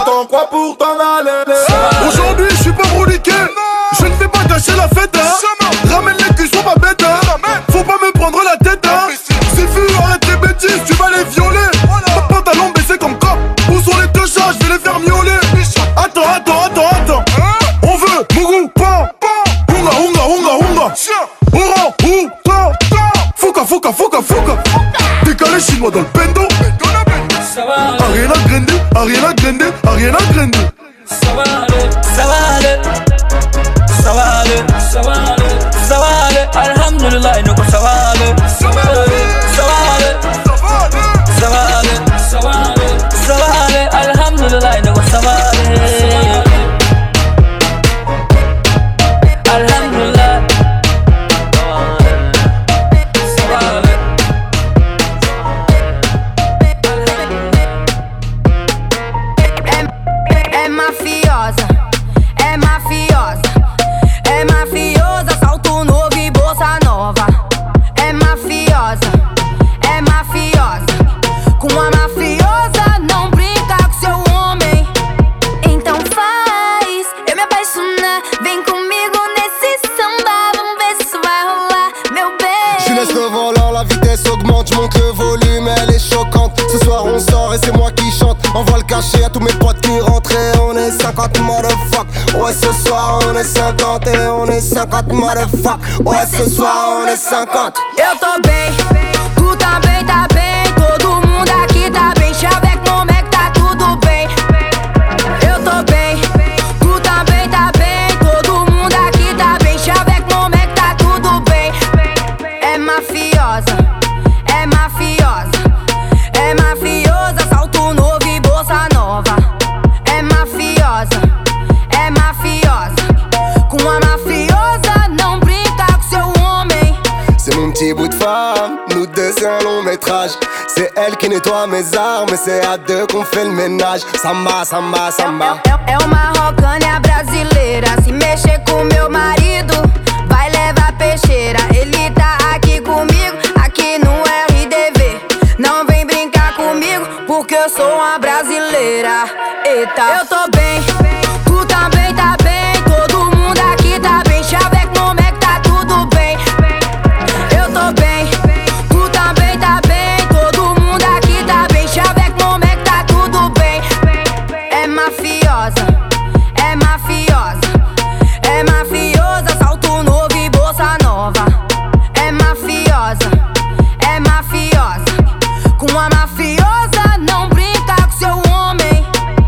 Speaker 12: Grande, Ariana Grande, Ariana Grande.
Speaker 22: Ça va aller, ça va aller, ça va aller, ça va aller, ça va aller. Alhamdulillah, nous ça va aller, ça va aller, ça va aller, ça va aller, ça va aller, ça va aller. Alhamdulillah, nous ça va aller. Alhamdulillah, ça va aller.
Speaker 2: É mafiosa, é mafiosa, é mafiosa, salto novo e bolsa nova. É mafiosa, é mafiosa, com a mafiosa não brinca com seu homem. Então faz eu me apaixonar, vem comigo nesse samba, vamos ver se isso vai rolar, meu bem.
Speaker 3: Je laisse le volant, la vitesse augmente, je monte le volume, elle est choquante. Ce soir on sort et c'est moi qui chante. Envoie le cachet à tous mes potes qui rentrent et on est cinquante motherfuck. Ouais ce soir on est cinquante et on est cinquante motherfuck. Ouais ce soir on est cinquante.
Speaker 2: Eu tô bem, tu também tá bem, todo mundo aqui tá bem. Chave avec mon mec, tá tudo bem. Eu tô bem, tu também tá bem, todo mundo aqui tá bem. Chave avec mon mec, tá tudo bem. É mafiosa, é mafiosa, é mafiosa, salto novo e bolsa nova. É mafiosa, é mafiosa, com a mafiosa não brinca com seu homem.
Speaker 3: C'est mon petit bout de femme, nous deux c'est un long métrage. C'est elle qui nettoie mes armes et c'est à deux qu'on fait le ménage. Samba, samba, samba.
Speaker 2: É, é uma rocânia brasileira, se mexer com meu marido vai levar peixeira. Ele tá aqui comigo, aqui no R D V. Não vem brincar comigo, porque eu sou uma brasileira. Eita, eu tô bem, tu também tá bem, todo mundo aqui tá bem. Chave avec mon mec, tá tudo bem. Eu tô bem, tu também tá bem, todo mundo aqui tá bem. Chave avec mon mec, tá tudo bem. É mafiosa, é mafiosa, é mafiosa, salto novo e bolsa nova. É mafiosa, é mafiosa, com a mafiosa não brinca com seu homem.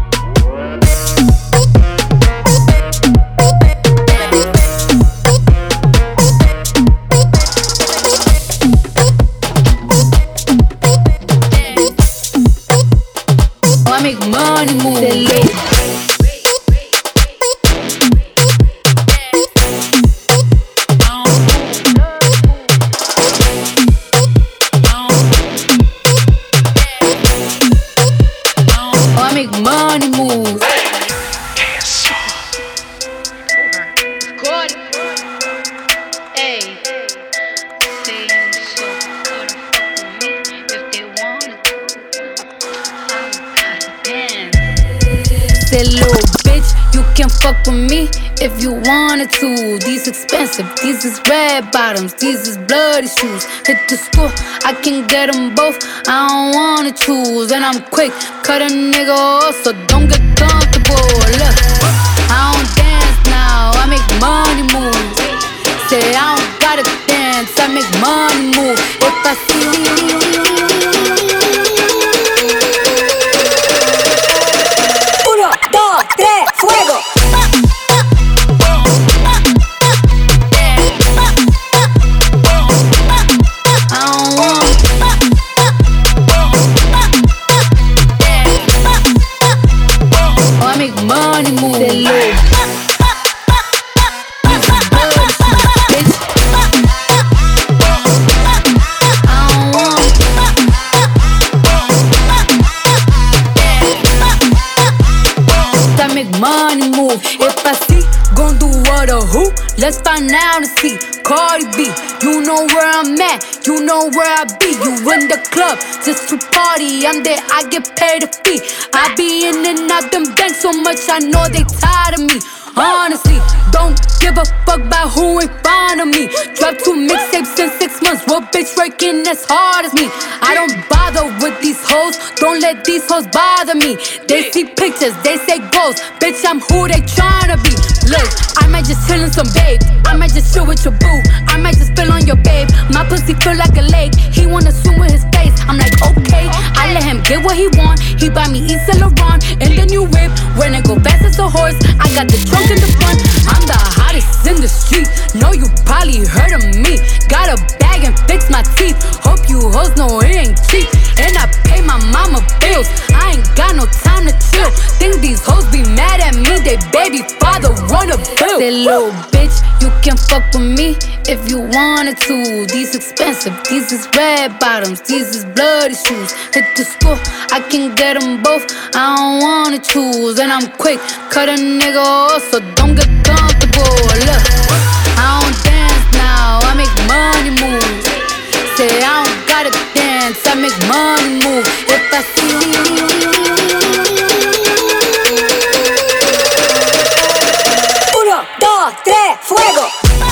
Speaker 19: I make money move. I make money move. Say little bitch, you can fuck with me if you wanted to. These expensive, these is red bottoms, these is bloody shoes. Hit the school, I can get them both, I don't wanna choose. And I'm quick, cut a nigga off, so don't get comfortable. Look, I don't dance now, I make money move. Say I don't gotta dance, I make money move. If I see
Speaker 2: Tres, fuego.
Speaker 19: I make money move. Money move. If I see, gon' do what or who? Let's find out and see. Cardi B, you know where I'm at, you know where I be. You in the club just to party, I'm there, I get paid a fee. I be in and out them banks so much, I know they tired of me. honestly. Don't give a fuck about who in front of me. Drop two mixtapes in six months. What bitch working as hard as me? I don't bother with these hoes. Don't let these hoes bother me. They see pictures, they say goals. Bitch, I'm who they tryna be. Look, I might just chill in some babe. I might just chill with your boo. I might just spill on your babe. My pussy feel like a lake. He wanna swim with his face. I'm like, okay. I let him get what he want. He buy me Yves Saint Laurent and the new whip. When it go fast as a horse, I got the trunk in the front. I'm the hottest in the street. Know you probably heard of me. Got a bag and fix my teeth. Hope you hoes know it ain't cheap. And I pay my mama bills. I ain't got no time to chill. Think these hoes be mad at me. They baby father run a bill. Say little bitch, you can fuck with me if you wanted to. These expensive, these is red bottoms, these is bloody shoes. Hit the school, I can get them both. I don't wanna choose. And I'm quick, cut a nigga off, so don't get comfortable. Look, I don't dance now, I make money move. Say I don't gotta dance, I make money move. If I see uno, dos, tres, fuego.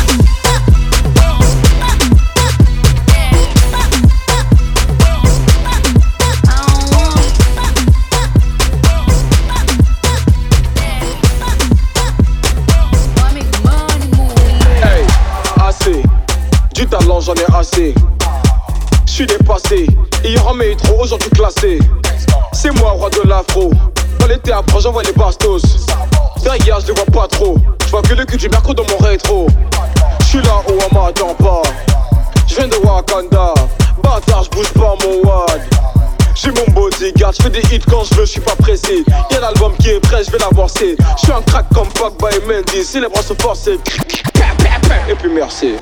Speaker 5: Du talent j'en ai assez. J'suis dépassé. Hier en métro, aujourd'hui classé. C'est moi roi de l'afro. Dans les théâtres j'envoie les bastos. Derrière je les vois pas trop. J'vois que le cul du merco dans mon rétro. J'suis là où on m'attend pas. J'viens de Wakanda. Bâtard j'bouge pas mon wad. J'ai mon bodyguard, j'fais des hits quand j'veux, j'suis pas pressé. Y'a l'album qui est prêt, j'vais l'avancer. J'suis un crack comme Pogba et Mendy. Si les bras sont forcés. Et puis merci.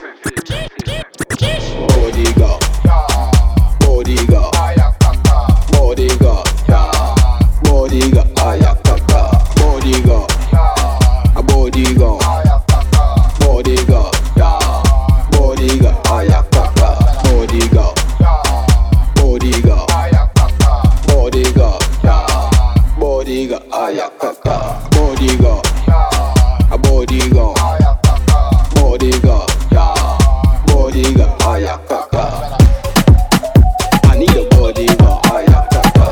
Speaker 5: Bodyguard, bodyguard, bodyguard, bodyguard, ayakaka, bodyguard, a bodyguard, bodyguard, bodyguard, ayakaka, bodyguard, bodyguard, bodyguard, bodyguard, ayakaka, bodyguard, a bodyguard, bodyguard. Bodyguard, ayakaka. I need a bodyguard, ayakaka.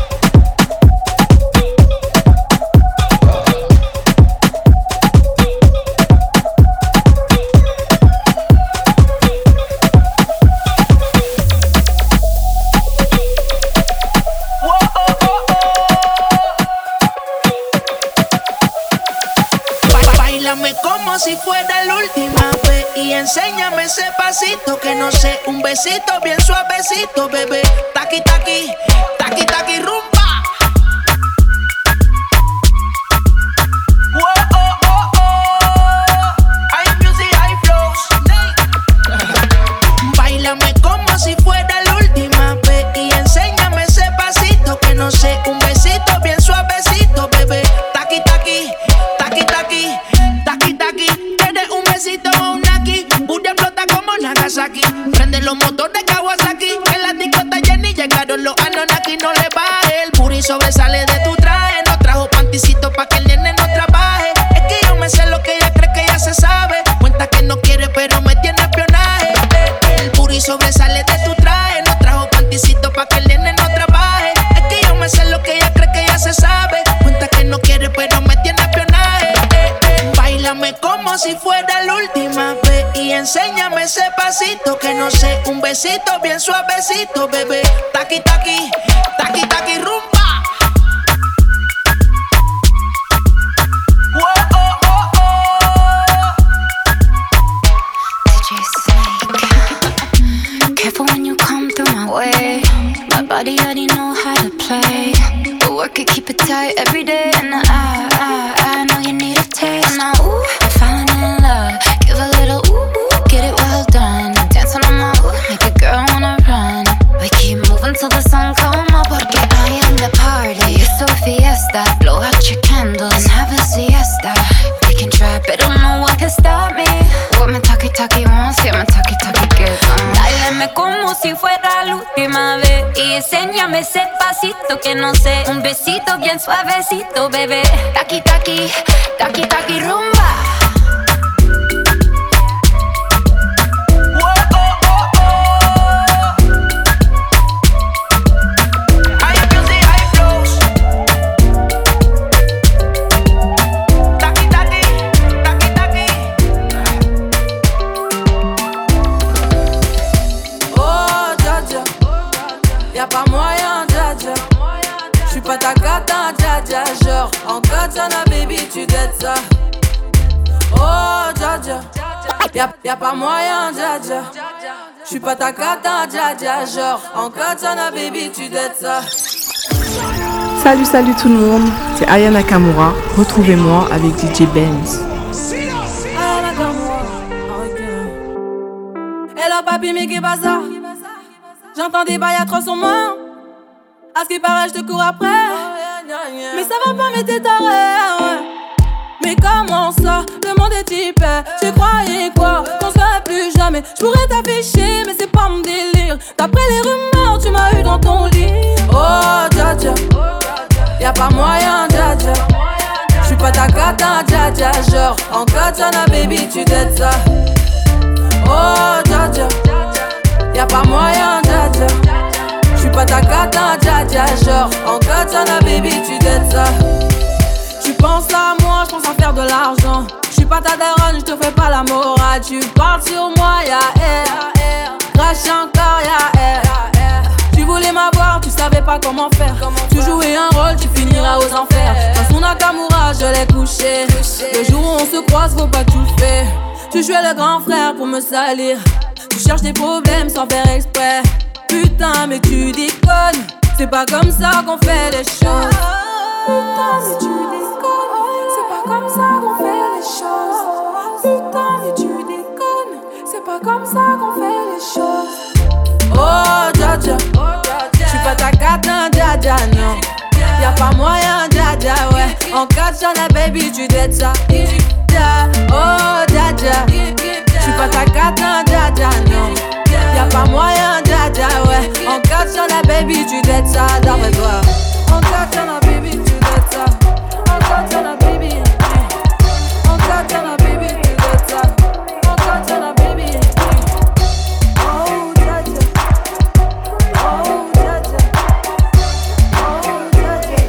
Speaker 6: Báilame como si fuera la última vez y enséñame ese pasito que no sé, un besito bien suavecito, bebé. Taqui taqui, taqui taqui rumba. Whoa, oh, oh, oh. Hay music, hay flows. Báilame como si fuera la última vez y enséñame ese pasito que no sé, un besito bien suavecito, bebé. Taqui taqui, taqui taqui. Taki taki, tienes un besito o un naki. Booty explota como Nagasaki. Prende los motores Kawasaki. En la disco está llena y llegaron los Anunnaki. No le baje, el puri sobresale de tu traje. No trajo panticito pa' que el nene no trabaje. Es que yo me sé lo que ella cree que ya se sabe. Cuenta que no quiere pero me tiene espionaje. El puri sobresale de tu traje. No trajo panticito pa' que el nene no trabaje. Es que yo me sé lo que ella cree que ya se sabe. Cuenta que no quiere pero me tiene espionaje. Báilame como si fuera la última vez y enséñame ese pasito que no sé, un besito bien suavecito, bebé. Taqui taqui, taqui taqui rumba. Whoa, oh, oh, oh.
Speaker 23: D J Snake, careful when you come through my way. My body already know how to play, but work it, keep it tight every day. And I, I, I know you need a taste. Now, ooh, I'm falling in love. Give a little ooh, ooh, get it well done. Dancing on my ooh, make a girl wanna run. We keep moving till the sun come up. Porque I am the party. It's a fiesta. Blow out your candles and have a siesta. We can try, but no one can stop me. What my talkie talkie wants, yeah, my talkie talkie gives. Uh. Dáleme como si fuera la última vez y enséñame ese pasito que no sé. Un besito bien suavecito, bebé. Taki, taki, taki, taki, rumba.
Speaker 7: Pas ta cata, dja dja, genre en katana, baby, tu dettes ça. Oh, dja dja, y'a, y'a pas moyen, dja dja. J'suis pas ta cata, dja dja, genre en katana, baby, tu dettes ça.
Speaker 8: Salut, salut tout le monde, c'est Aya Nakamura. Retrouvez-moi avec D J Benz.
Speaker 7: Aya Nakamura, hello papi, mais qu'est-ce que ça? J'entends des bails à trois sur moi. À ce qui paraît, je te cours après. Mais ça va pas, mais t'es taré, ouais. Mais comment ça, le monde est hyper. Tu croyais quoi, qu'on se verrait plus jamais. Je pourrais t'afficher, mais c'est pas mon délire. D'après les rumeurs, tu m'as eu dans ton lit. Oh, dja dja, y'a pas moyen, dja dja. J'suis pas ta cata, dja dja. Genre, en katana, baby, tu dettes ça. Oh, dja dja, y'a pas moyen, dja dja. J'suis pas ta cata, dja dja, genre en katana, baby, tu dettes ça. Tu penses à moi, j'pense à faire de l'argent. J'suis pas ta daronne, j'te fais pas la morale. Tu parles sur moi, y'a air. Crash encore, y'a air. Tu voulais m'avoir, tu savais pas comment faire. Tu jouais un rôle, tu finiras aux enfers. Dans son Nakamura, je l'ai couché. Le jour où on se croise, faut pas tout faire. Tu jouais le grand frère pour me salir. Tu cherches des problèmes sans faire exprès. Putain mais tu déconnes, c'est pas comme ça qu'on fait les choses. Putain mais tu déconnes, c'est pas comme ça qu'on fait les choses. Putain mais tu déconnes, c'est pas comme ça qu'on fait les choses. Oh dja dja, j'suis pas ta cata, dja dja, non. Y'a pas moyen, dja dja, ouais. En katana, baby, tu dettes ça. Oh dja dja, j'suis pas ta cata, dja dja, non. Y'a pas moyen, dja dja, ouais. En katana, baby, tu dettes ça, d'après toi. En katana, baby, tu dettes ça. En katana, baby. En katana, baby, tu dettes ça. En katana, baby. Oh, dja dja. Oh, dja dja. Oh, dja dja.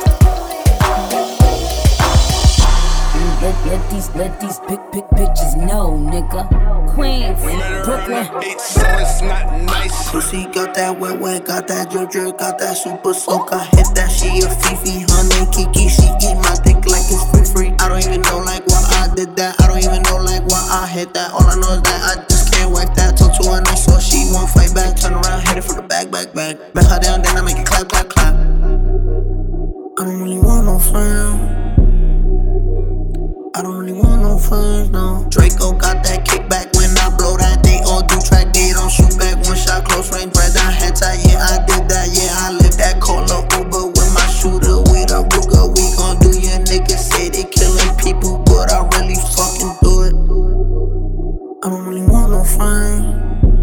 Speaker 11: Let, let these, let these big, big bitches know, nigga. Queens, Brooklyn.
Speaker 24: So it's not nice.
Speaker 25: Pussy got that wet, wet, got that drip, drip, got that super soak. I hit that, she a Fifi, honey, Kiki. She eat my dick like it's free, free. I don't even know like why I did that. I don't even know like why I hit that. All I know is that I just can't whack that. Talk to her nice, so she won't fight back. Turn around, hit it for the back, back, back. Back her down, then I make it clap, clap, clap. I don't really want no friends. I don't really want no friends, no. Draco got that kickback when I blow that. They all do track, they don't shoot back. One shot, close range, bread down, head tie. Yeah, I did that, yeah, I lived that. Call a Uber with my shooter, with a Ruger. We gon' do your niggas say they killing people, but I really fucking do it. I don't really want no friends.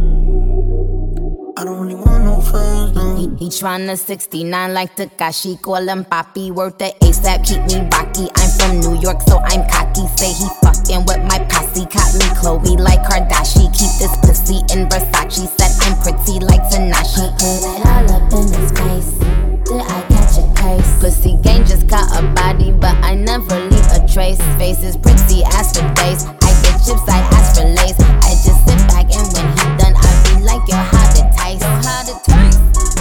Speaker 25: I don't really want no friends, no.
Speaker 11: He, he tryna sixty-nine like Takashi. Call him Papi, worth the ASAP, keep me rocky. I'm from New York, so I'm cocky. Say he fucking with my posse. Caught me Chloe like Kardashian. Keep this pussy in Versace. Said I'm pretty like Tanashi. Put it all up in his face. Did I catch a case? Pussy gang just got a body, but I never leave a trace. Face is pretty as for days. I get chips, I ask for lace. I just sit back and when he done, I be like, yo, how to taste? How to taste?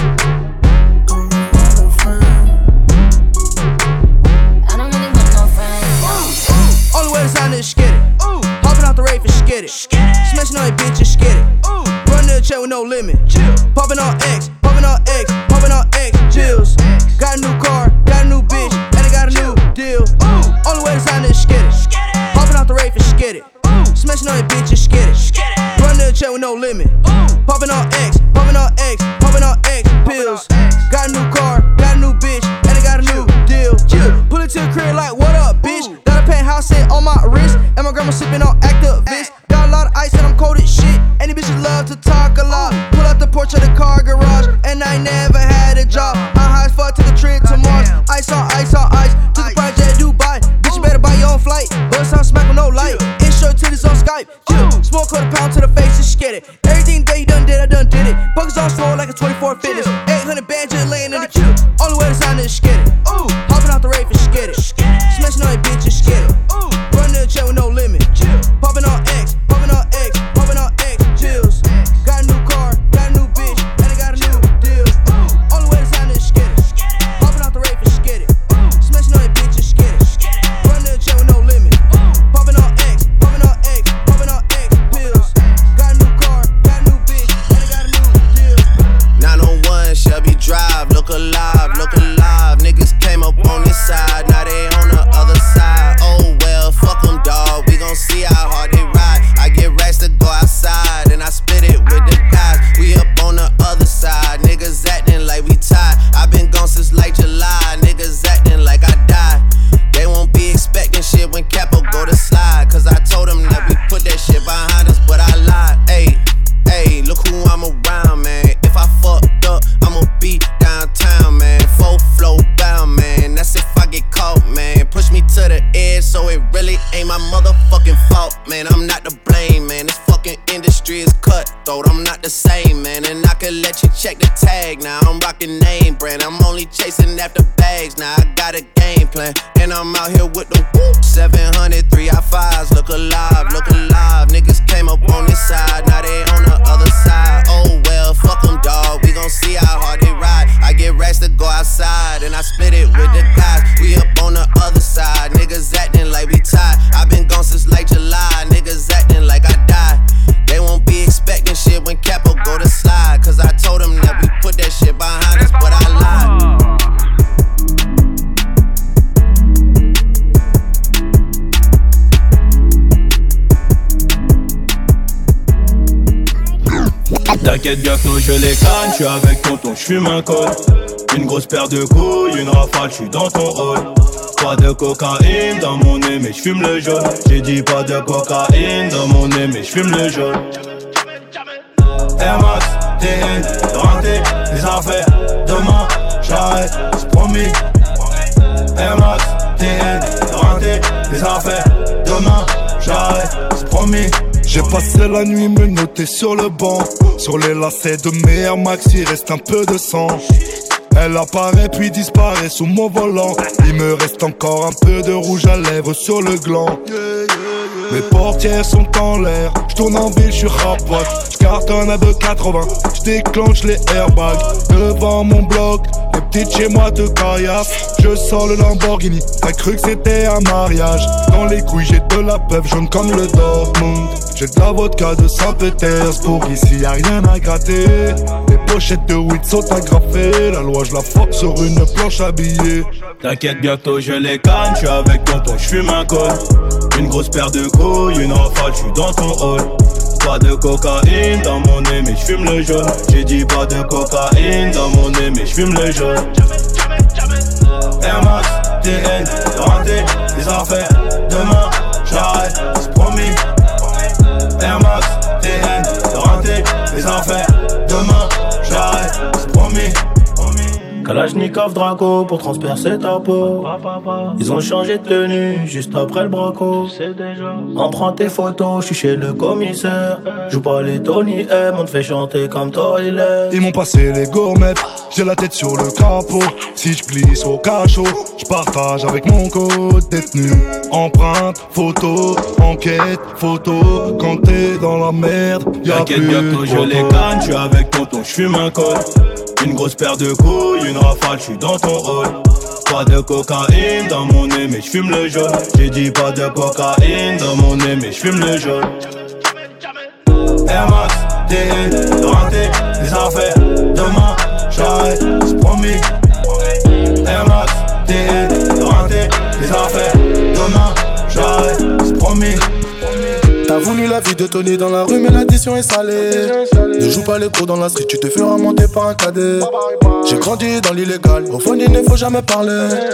Speaker 26: Skid it. Ooh. Hopping out the rave and skid it. Smashing on your bitch and skid it. Ooh. Run to the check with no limit. Chill. Popping on X, popping on X, popping on X. Chills. Got a new car, got a new bitch, and I got a new deal. Ooh. Only way to sign is skid it. Hopping out the rave and skid it. Ooh. Smashing on your bitch and skid it. Run to the check with no limit. Ooh. Popping on X, popping on X, popping on X. Pills. Got a new car, got a new bitch, and I got a new deal. Chill. Pull it to the crib like, what up, bitch? Got a penthouse set on my wrist, and my grandma sipping on Actavis. Got a lot of ice and I'm cold as shit. Any bitches love to talk a lot. Pull out the porch of the car garage, and I ain't never my fitness. eight hundred bands just laying in the queue. Only way to sign is skid it. Ooh, hopping off the rave and skid it. Smashing on that bitch and skid it. Ooh, running the chair with no limit. Popping on X, popping on X, popping on X, chills. Got a new car, got a new bitch, and I got a new deal. Ooh, only way to sign is skid it. Hopping off the rave and skid it. Smashing on that bitch and skid it. Running the chair with no limit. Popping on X, popping on X, popping on X, pills. Got a new car, got a new bitch, and I got a new deal.
Speaker 15: nine oh one Shelby Drive, look alive, look alive. Niggas came up on this side, now they on the other side. Oh well, fuck them, dawg. We gon' see how hard they ride. I get racks to go outside, and I split it with the guys. We up on the other side, niggas acting like we tied. I been gone since like July, niggas acting like I died. They won't be expecting shit when Capo go to slide. Cause I told them that we put that shit behind us, but I lied. Ayy, ayy, look who I'm around, man. If I fucked up, I'ma be downtown, man. Full flow bound, man. That's if I get caught, man. Push me to the edge, so it really ain't my motherfucking fault, man. I'm not to blame, man. This fucking industry is cutthroat. I'm not the same, man. And I could let you check the tag now. I'm rocking name brand. I'm only chasing after bags now. I got a game plan, and I'm out here with the whoop. seven hundred, three I fives, look alive, look alive. Niggas came up on this side, now they on the other side. Oh well, fuck them, dawg. We gon' see how hard they ride. I get racks to go outside, and I split it with the guys. We up on the other side, niggas acting like we tied. I been gone since like July, niggas acting like I died. They won't be expecting shit when Capo go to slide. Cause I told them that we put that shit behind us, but I lied.
Speaker 10: T'inquiète bientôt je les canne, j'suis avec tonton, j'fume un col. Une grosse paire de couilles, une rafale, j'suis dans ton rôle. Pas de cocaïne dans mon nez mais j'fume le jaune. J'ai dit pas de cocaïne dans mon nez mais j'fume le jaune. Air Max, T N, rentré, les affaires. Demain, j'arrête, c'est promis. Air Max, T N, rentré, les affaires. Demain, j'arrête, c'est promis.
Speaker 3: J'ai passé la nuit me noter sur le banc. Sur les lacets de mes Air Max, il reste un peu de sang. Elle apparaît puis disparaît sous mon volant. Il me reste encore un peu de rouge à lèvres sur le gland. Mes portières sont en l'air, j'tourne en ville, j'suis rapote. J'cartonne à deux quatre-vingts, j'déclenche les airbags. Devant mon bloc, les petites chez moi te caillassent. Je sors le Lamborghini, t'as cru que c'était un mariage. Dans les couilles j'ai de la peuple jaune comme le Dortmund. J'ai de la vodka de Saint-Pétersbourg, ici y'a rien à gratter. Les pochettes de weed sont agrafées, la loi j'la fuck sur une planche habillée.
Speaker 10: T'inquiète bientôt je les canne, j'suis avec tonton, j'fume un col. Une grosse paire de couilles, une rafale, j'suis dans ton hall. Pas de cocaïne dans mon nez mais j'fume le jaune. J'ai dit pas de cocaïne dans mon nez mais j'fume le jaune. Air Max, T N, rentré, les affaires. Demain, j'arrête, c'est promis. Air Max, T N, rentré, les affaires. Demain, j'arrête, c'est promis. Kalachnikov Draco pour transpercer ta peau. Ils ont changé de tenue juste après le braco. On prend tes photos, je suis chez le commissaire. Joue pas les Tony M, on te fait chanter comme Toilet.
Speaker 3: Ils m'ont passé les gourmettes, j'ai la tête sur le capot. Si je glisse au cachot, je partage avec mon code détenu. Empreinte, photo, enquête, photo. Quand t'es dans la merde, y'a plus de
Speaker 10: bientôt je les canne, j'suis avec tonton, j'fume un col. Une grosse paire de couilles, une rafale, j'suis dans ton hall. Pas de cocaïne dans mon nez mais j'fume le jaune. J'ai dit pas de cocaïne dans mon nez mais j'fume le jaune. Air Max, T N, rentré, les affaires. Demain, j'arrête, c'est promis. Air Max, T N, rentré, les affaires. Demain, j'arrête, c'est promis.
Speaker 13: T'as voulu la vie de Tony dans la rue mais l'addition est salée. Ne joue pas les gros dans la street, tu te feras monter par un cadet. J'ai grandi dans l'illégal, au fond il ne faut jamais parler.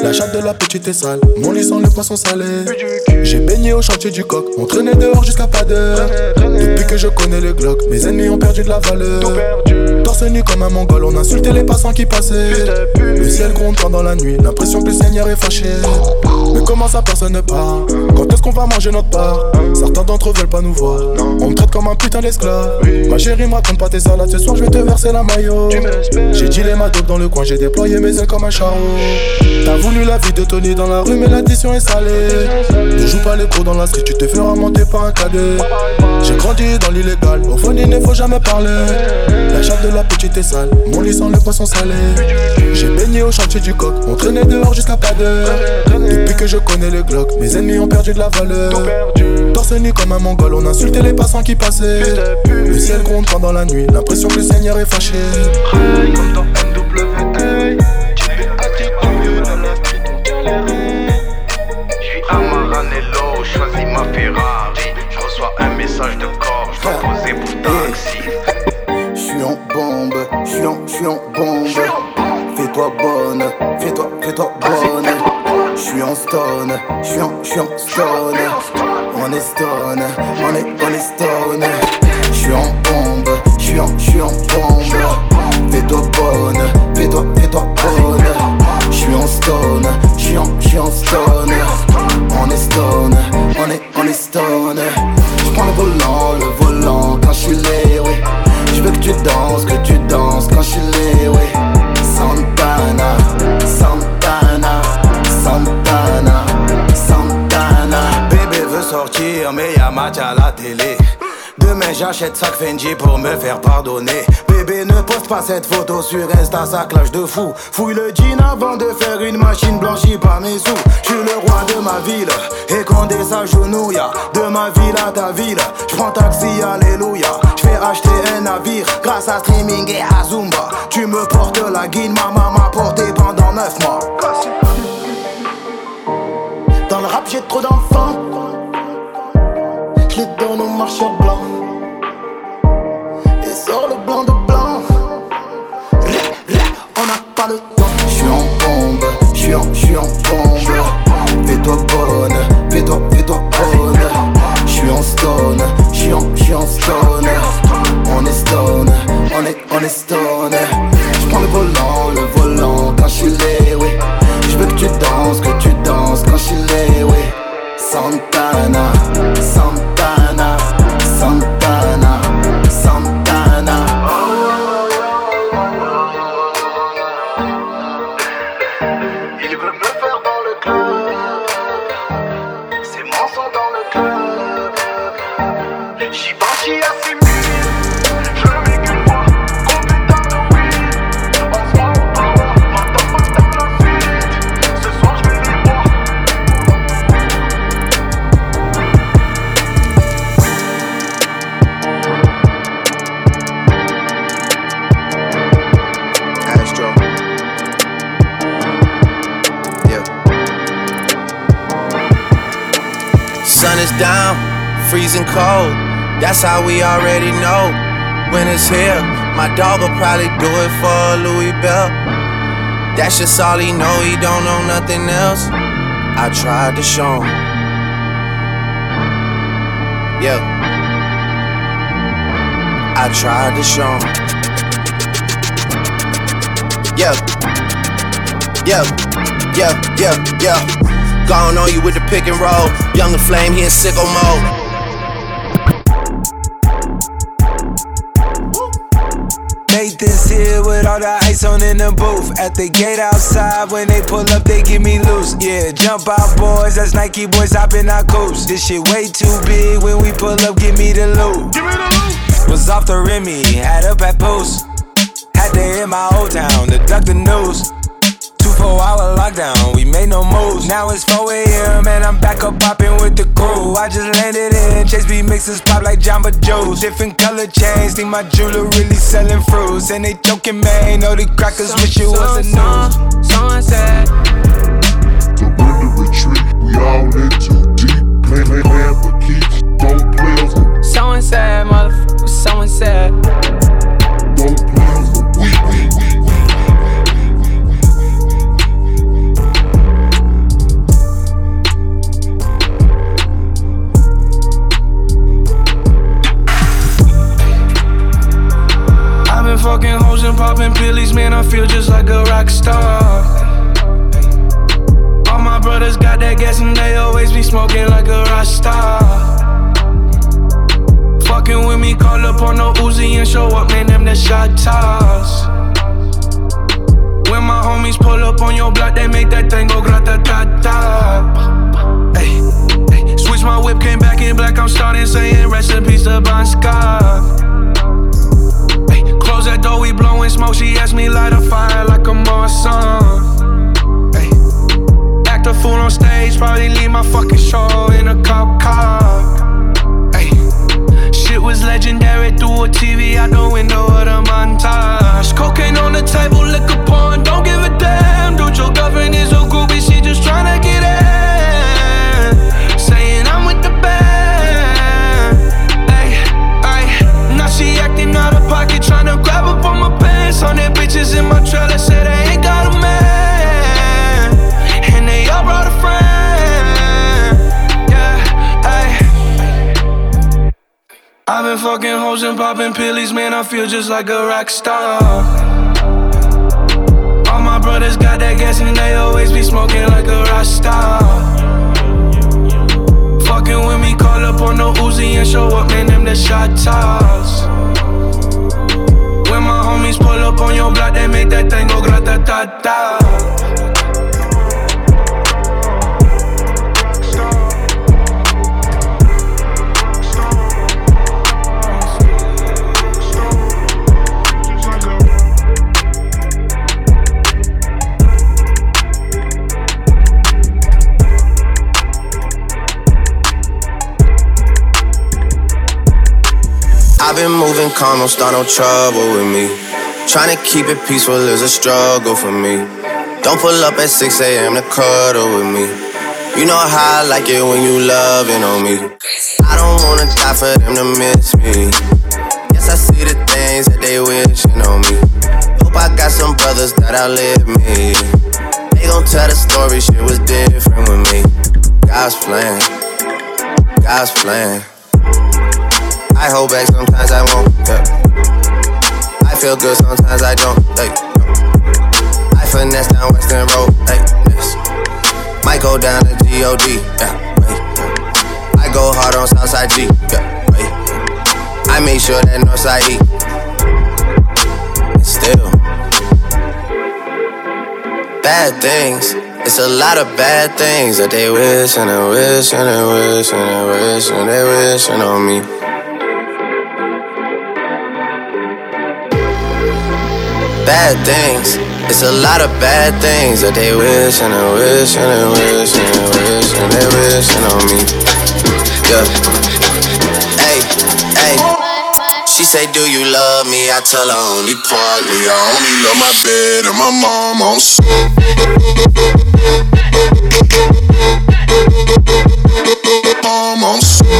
Speaker 13: La chatte de la petite est sale, mon lit sent le poisson salé. J'ai baigné au chantier du coq, on traînait dehors jusqu'à pas d'heure. Depuis que je connais le Glock, mes ennemis ont perdu de la valeur. Torse nu comme un mongol, on insultait les passants qui passaient. Le ciel gronde pendant la nuit, l'impression que le Seigneur est fâché. Mais comment ça personne ne parle? Quand est-ce qu'on va manger notre part? Certains d'entre eux veulent pas nous voir, on me traite comme un putain d'esclave. Ma chérie me raconte pas tes salades, ce soir je vais te verser la maillot. J'ai dit les madocs dans le coin, j'ai déployé mes ailes comme un charreau. T'as voulu la vie de Tony dans la rue mais l'addition est salée. Ne joue pas les pros dans la street, tu te feras monter par un cadet. J'ai grandi dans l'illégal, au fond il ne faut jamais parler. La chatte de la petite est sale, mon lit sent le poisson salé. J'ai baigné au chantier du coq, on traînait dehors jusqu'à pas d'heure. Depuis que je connais le Glock, mes ennemis ont perdu de la valeur. Torse nu comme un mongol, on insultait les passants qui passaient. Le ciel gronde pendant la nuit, l'impression que le Seigneur est fâché.
Speaker 14: Comme dans N W A, Jimmy attitude dans la street on galère. J'suis à Maranello, choisis ma Ferrari. J'reçois un message de corps, j'dois poser pour taxi.
Speaker 3: J'suis en bombe, j'suis en, j'suis en bombe. Fais-toi bonne, fais-toi, fais-toi bonne. J'suis en stone, j'suis en, j'suis en stone. On est stone, on est, on est stone. J'suis en bombe, j'suis en, j'suis en bombe. Fais-toi bonne, fais-toi, fais-toi bonne. J'suis en stone, j'suis en, j'suis en stone. On est stone, on est, on est stone. J'prends le volant, le volant quand j'suis lé, oui. J'veux que tu danses, que tu danses quand j'suis lé, oui. Santana, Santana, Santana, Santana.
Speaker 16: Bébé veut sortir mais y'a match à la télé. Demain j'achète sac Fendi pour me faire pardonner. Bébé ne poste pas cette photo sur Insta, ça clash de fou. Fouille le jean avant de faire une machine blanchie par mes sous. J'suis le roi de ma ville et Condé s'agenouille. De ma ville à ta ville, j'prends taxi, alléluia. J'fais acheter un navire grâce à streaming et à Zumba. Tu me portes la guine, maman m'a porté pendant neuf mois.
Speaker 25: Dans le rap j'ai trop d'enfants, j'les donne aux marcheurs blancs. Et sort le blanc de blanc. On n'a pas le temps.
Speaker 3: J'suis en bombe, j'suis en, j'suis en bombe. Fais-toi bonne, fais-toi, fais-toi bonne. J'suis en stone, j'suis en, j'suis en stone. On est stone, on est, on est stone. J'prends le volant, le volant quand j'suis lé, oui. J'veux que tu danses, que tu danses quand j'suis lé, oui. Santana, Santana, Santana, Santana.
Speaker 14: Il veut me faire dans le club, c'est mon son dans le club. J'y vais, j'y assimile, je le mets qu'une fois, gros putain de weed. On se voit au power, maintenant pas dans la suite. Ce soir je vais les voir.
Speaker 17: Astro. Yeah.
Speaker 15: Sun is down, freezing cold. That's how we already know. When it's here, my dog will probably do it for Louis Bell. That's just all he know, he don't know nothing else. I tried to show him. Yeah. I tried to show him. Yeah. Yeah. Yeah. Yeah. Yeah. Gone on you with the pick and roll. Younger Flame, he in sicko mode.
Speaker 18: Made this here with all the ice on in the booth. At the gate outside, when they pull up, they give me loose. Yeah, jump out, boys. That's Nike boys hopping our coops. This shit way too big. When we pull up, give me the loot. Give me the loot. Was off the Remy, had up at post. Had to hit my old town to duck the news. Two four hour lockdown, we made no moves. Now it's four a.m. and I'm back up popping with the crew. I just landed in, Chase B mixes pop like Jamba Juice. Different color chains, think my jeweler really selling fruits. And they joking, man, know the crackers wish it was a news.
Speaker 20: Sunset.
Speaker 21: The winter retreat, we all in too deep. Play, play, play for keeps, don't play us for.
Speaker 20: Someone said, motherfucker, someone said.
Speaker 21: Don't play us for weak, weak, weak, weak.
Speaker 15: star. All my brothers got that gas and they always be smoking like a rock star. Fucking with me, call up on the Uzi and show up, man, them the shot toss. When my homies pull up on your block, they make that thing go grata-ta-ta. Ay, ay. Switch my whip, came back in black, I'm starting saying recipes to Bon Scott. Ay, close that door, we blowing smoke, she asked me light a fire like a Marsan. Ay, act a fool on stage, probably leave my fucking show in a cop car. Ay, shit was legendary through a T V out the window of the montage. Cocaine on the table, liquor porn, don't give a damn. Dude, your girlfriend is a groupie, she just tryna get in. Saying I'm with the band. Ay, ay, now she acting out of pocket, tryna grab up on my pants. On their bitches in my trailer, say they ain't got a man. And they all brought a friend. Yeah, ay. I've been fucking hoes and popping pillies, man, I feel just like a rock star. All my brothers got that gas and they always be smoking like a rock star. Fucking with me, call up on the Uzi and show up, man, them the shot toss. When my homies pull up on your block, they make that thing go grata-ta-ta.
Speaker 1: I've been moving calm, don't start no trouble with me. Tryna keep it peaceful is a struggle for me. Don't pull up at six a.m. to cuddle with me. You know how I like it when you loving on me. I don't wanna die for them to miss me. Yes, I see the things that they wishing on me. Hope I got some brothers that outlive me. They gon' tell the story, shit was different with me. God's plan, God's plan. I hold back, sometimes I won't, yeah. I feel good, sometimes I don't, hey. I finesse down Western Road, hey, yes. Might go down to G O D, yeah, hey. I go hard on Southside G, yeah, hey. I make sure that Northside E. And still bad things, it's a lot of bad things that they wish and they wish and they wish and they wish and they wishing on me. Bad things, it's a lot of bad things that they wish and they wish and they wish and they wish and they wishing on me. Yeah. Hey, hey. She say, do you love me? I tell her only partly. I only love my bed and my mom on mom on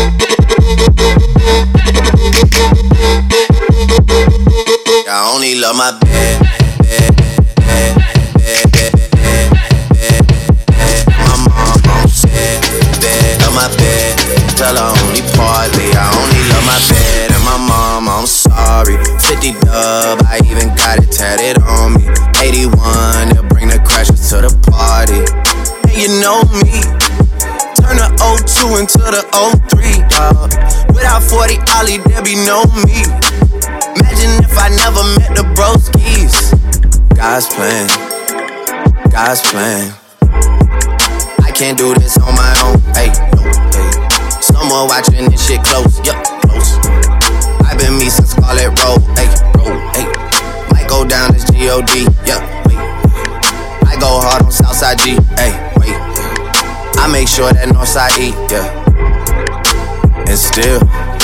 Speaker 1: I only love my bed, bed, bed, bed, bed, bed, bed, bed. My mom on set, bed, love my bed. Tell her only partly. I only love my bed and my mom, I'm sorry. fifty dub, I even got it tatted on me. eighty-one, they'll bring the crashers to the party. And you know me, turn the oh two into the oh three, dawg. Without forty Ollie, there be no me. Imagine if I never met the broskies. God's plan, God's plan. I can't do this on my own, hey, no, hey. Someone watching this shit close, yup, close. I've been me since Scarlet Road, hey, road, hey. Might go down as G O D, yup, wait. I go hard on Southside G, hey, wait. I make sure that Northside E, yeah. And still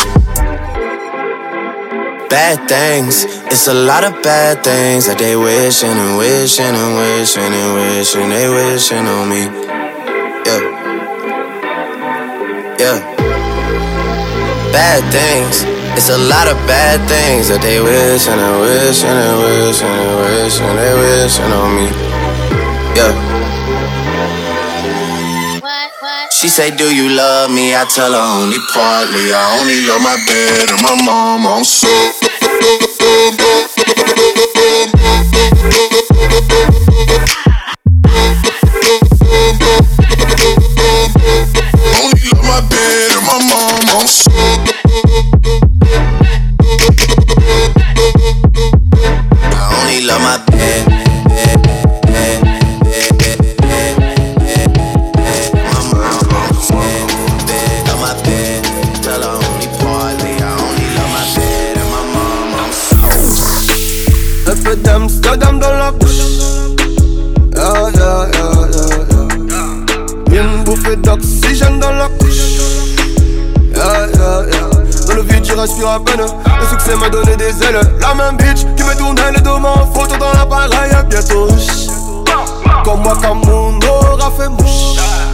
Speaker 1: bad things, it's a lot of bad things that they wishing and wishing and wishing and wishing they wishing on me. Yeah, yeah. Bad things, it's a lot of bad things that they wishing and wishing and wishing and wishing they wishing on me. Yeah. She say, do you love me? I tell her only partly. I only love my bed and my mom on so.
Speaker 3: d'oxygène dans la couche. Yeah, yeah, yeah. Dans le vide, j'y respire à peine. Le succès m'a donné des ailes. La même bitch qui me tournait le dos en photo dans l'appareil. Bientôt, comme moi, comme mon aura fait mouche.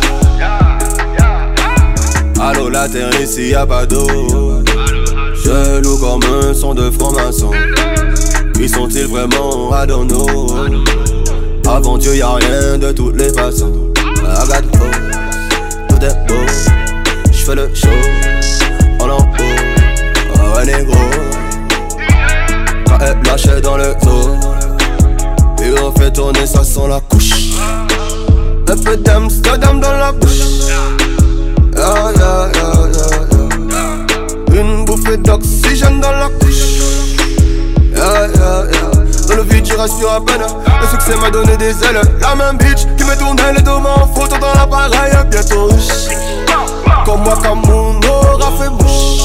Speaker 3: Allô, la terre ici, y'a pas d'eau. Je loue comme un son de franc-maçon. Qui sont-ils vraiment? I don't know. Avant Dieu, y'a rien de toutes les façons. I got hope, tout est beau. J'fais le show, en en haut. Oh, un négro. Quand elle lâchait dans le dos. Et on fait tourner, ça sent la couche. Un peu d'Amsterdam dans la bouche. Yeah, yeah, yeah, yeah, yeah. Une bouffée d'oxygène dans la couche. Yeah, yeah, yeah. Dans le vide, j'y respire à peine. Le succès m'a donné des ailes. La même bitch qui me tournait le dos en photo dans l'appareil. Bientôt, comme moi, comme mon aura fait mouche.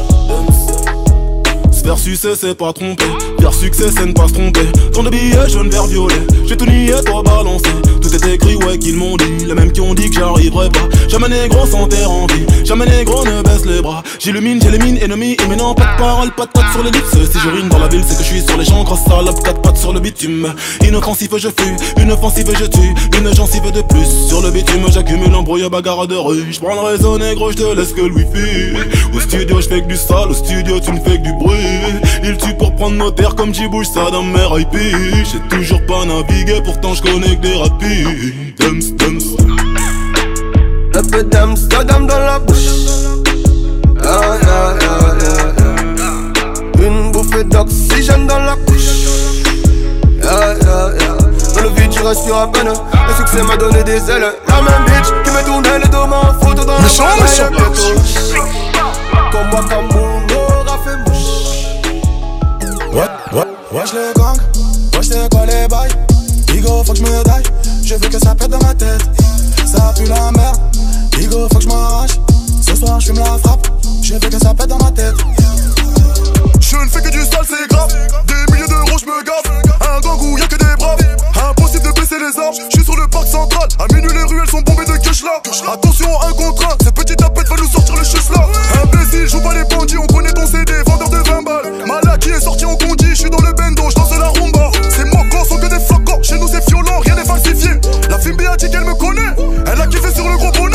Speaker 10: Vers succès c'est pas tromper, vers succès c'est ne pas se tromper. Tant de billets jaune vert violet, j'ai tout nié, toi balancé. Tout est écrit, ouais qu'ils m'ont dit, les mêmes qui ont dit que j'arriverai pas. Jamais négro sans terre en vie, jamais négro ne baisse les bras. J'illumine, j'élimine ennemis, et maintenant pas de parole, pas de pattes sur les lips. Si je rime dans la ville c'est que je suis sur les champs, grosse salope, quatre pattes sur le bitume. Inoffensive je fuis, une offensive je tue, une gencive de plus. Sur le bitume j'accumule embrouille, bagarre de rue. J'prends le réseau négro, j'te laisse que le wifi. Au studio j'fais que du sale, au studio tu ne fais que du bruit. Il tue pour prendre nos terres comme j'y bouge ça dans mes I P. J'ai toujours pas navigué, pourtant j'connais que des rapides. Dums, dums.
Speaker 3: Un peu d'Amsterdam dans la bouche. Yeah, yeah, yeah, yeah, yeah. Une bouffée d'oxygène dans la couche. Yeah, yeah, yeah. Dans le vide, j'y respire à peine. Le succès m'a donné des ailes. La même bitch qui me tournait le dos en photo dans l'appareil. Comme moi, comme mon aura fait mouche.
Speaker 13: Ouais, ouais, wesh les gangs, wesh c'est quoi les bails. Bigo faut que j'me daille, je veux que ça pète dans ma tête. Ça pue la merde, Bigo faut que j'm'arrache. Ce soir j'fume la frappe, je veux que ça pète dans ma tête.
Speaker 2: Je ne fais que du sale, c'est grave. Des milliers d'euros j'me gaffe. Un gang où y'a que des braves. Impossible de baisser les armes, j'suis sur le parc central. À minuit les ruelles sont bombées de cash là. Attention un contre un, cette petite tapette va nous sortir le chus là. Imbécile, joue pas les bandits, on connaît ton C D, vendeur de vingt balles. Malaki est sorti en condi, j'suis dans le bendo, j'danse la rumba. C'est moquant, sont que des flocons, chez nous c'est violent, rien n'est falsifié. La fille a dit qu'elle me connaît, elle a kiffé sur le gros bonnet.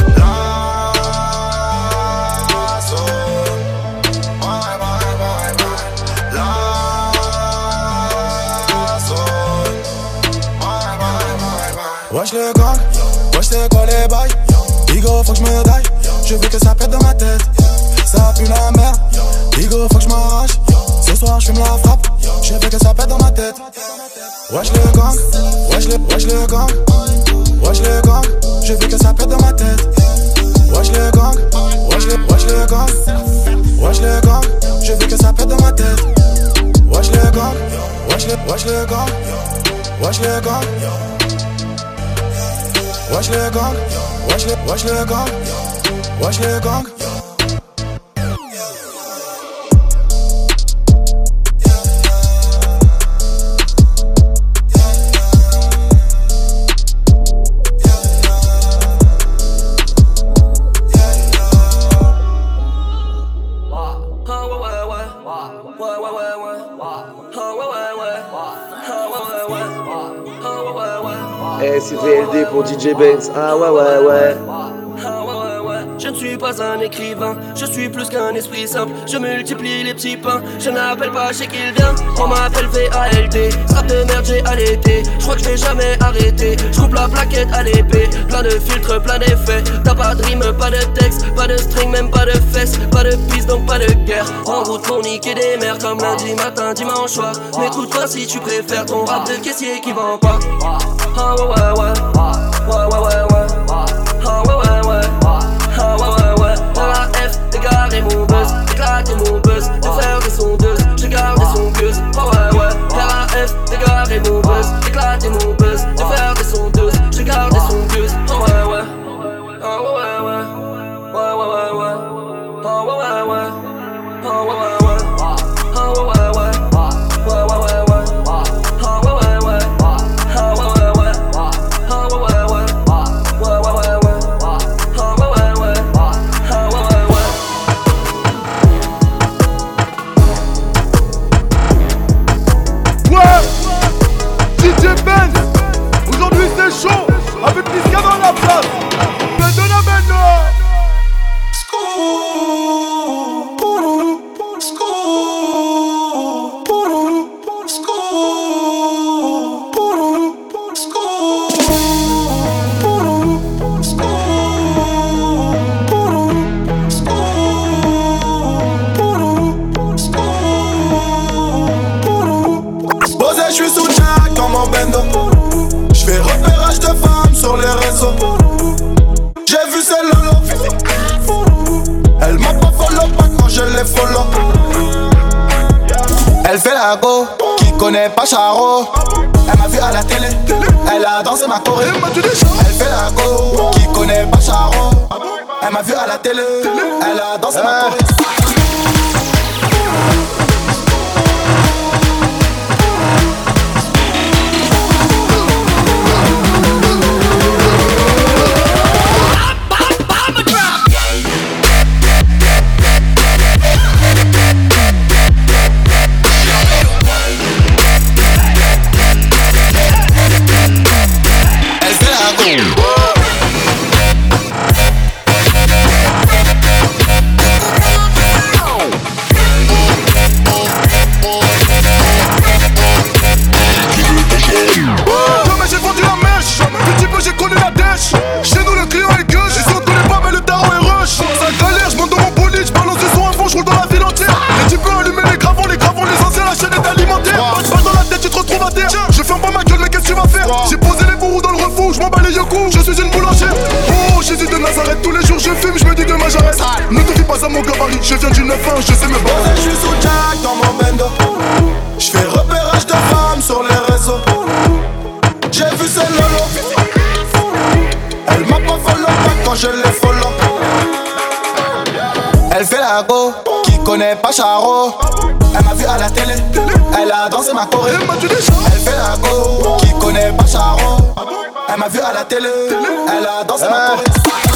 Speaker 13: Wesh le gang, wesh c'est quoi les bails. Bigo faut que j'me daille, je veux que ça pète dans ma tête. Ça pue la merde, Bigo faut que j'm'arrache. Ce soir j'fume la frappe, je veux que ça pète dans ma tête. Wesh le gang, wesh le, wesh le gang. Wesh le gang, je veux que ça pète dans ma tête. Wesh le gang, wesh le, wesh le gang. Wesh le gang, je veux que ça pète dans ma tête. Wesh le gang, wesh le, wesh le gang. Wesh le gang. Wesh le gang, wesh le, wesh le gang, wesh le gang.
Speaker 4: S V L D pour D J Benz, ah ouais ouais ouais.
Speaker 9: Je ne suis pas un écrivain, je suis plus qu'un esprit simple. Je multiplie les petits pains, je n'appelle pas chez qui il vient. On m'appelle V A L T, strap de merde j'ai allaité. Je crois que je vais jamais arrêter, je coupe la plaquette à l'épée. Plein de filtres, plein d'effets, t'as pas de rime, pas de texte, pas de string, même pas de fesses. Pas de piste donc pas de guerre, en route pour niquer des mères. Comme lundi matin, dimanche soir. N'écoute pas si tu préfères ton rap de caissier qui vend pas. Ah ouais ouais ouais, ouais ouais ouais ouais. Ah ouais ouais ouais, ah ouais ouais ouais. Dans la F, égarer mon buzz, éclater mon buzz, de faire des sondeuses, j'ai gardé son buzz. Ah ouais ouais, dans la F, égarer mon buzz, éclater mon buzz, de faire des sondeuses, j'ai gardé son buzz. Ah ouais ouais, ah ouais ouais ouais, ouais ouais ouais ouais, ah ouais ouais ouais, ah ouais ouais ouais, ah ouais ouais ouais, ouais ouais ouais ouais, ah ouais ouais ouais, ah ouais ouais ouais, ah ouais ouais.
Speaker 2: dans la place. Bendo na bendo.
Speaker 3: J'fais repérage de femmes sur les réseaux. J'ai vu celle Lolo. Elle m'a pas follow pas quand je l'ai follow. Elle fait la go, qui connaît pas Charo. Elle m'a vu à la télé, elle a dansé ma choré. Elle fait la go, qui connaît pas Charo. Elle m'a vu à la télé, elle a dansé ma choré.
Speaker 2: J'ai posé les bourreaux dans le refou, je m'en bats les yoku, je suis une boulangère. Oh Jésus de Nazareth, tous les jours je fume, je me dis demain j'arrête. Ne te fie pas à mon gabarit, je viens du neuf un, je sais me battre.
Speaker 3: Je suis sous Jack dans mon bendo. Je fais repérage de femmes sur les réseaux. J'ai vu celle Lolo. Elle m'a pas follow pas quand je l'ai follow. Elle fait la go, qui connaît pas Charo. Elle m'a vu à la télé, elle a dansé ma choré. Elle fait la go, qui connaît pas Charo. Elle m'a vu à la télé, elle a dansé ma choré.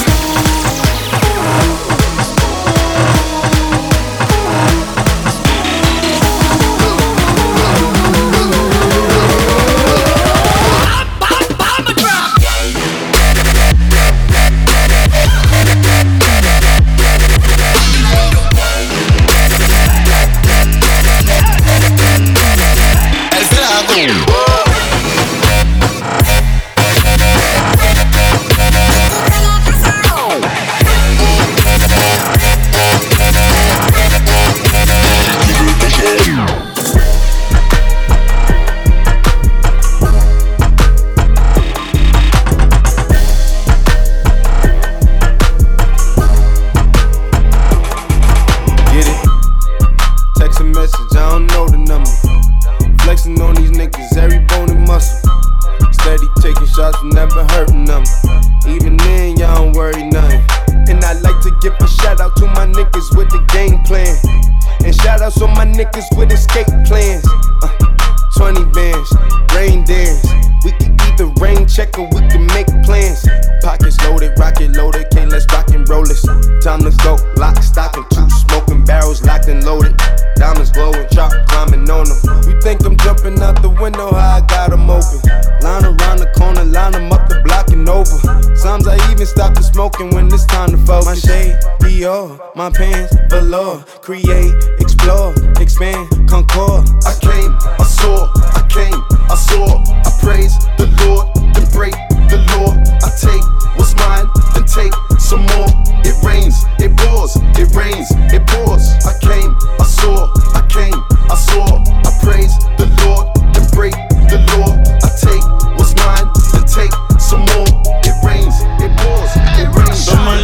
Speaker 5: My pants below, create, explore, expand, concord.
Speaker 3: I came, I saw, I came, I saw. I praise the Lord, then break the law. I take what's mine, then take some more. It rains, it pours, it rains, it pours. I came, I saw, I came, I saw. I praise the Lord, then break the law. I take what's mine, then take some more. It rains, it pours, it rains.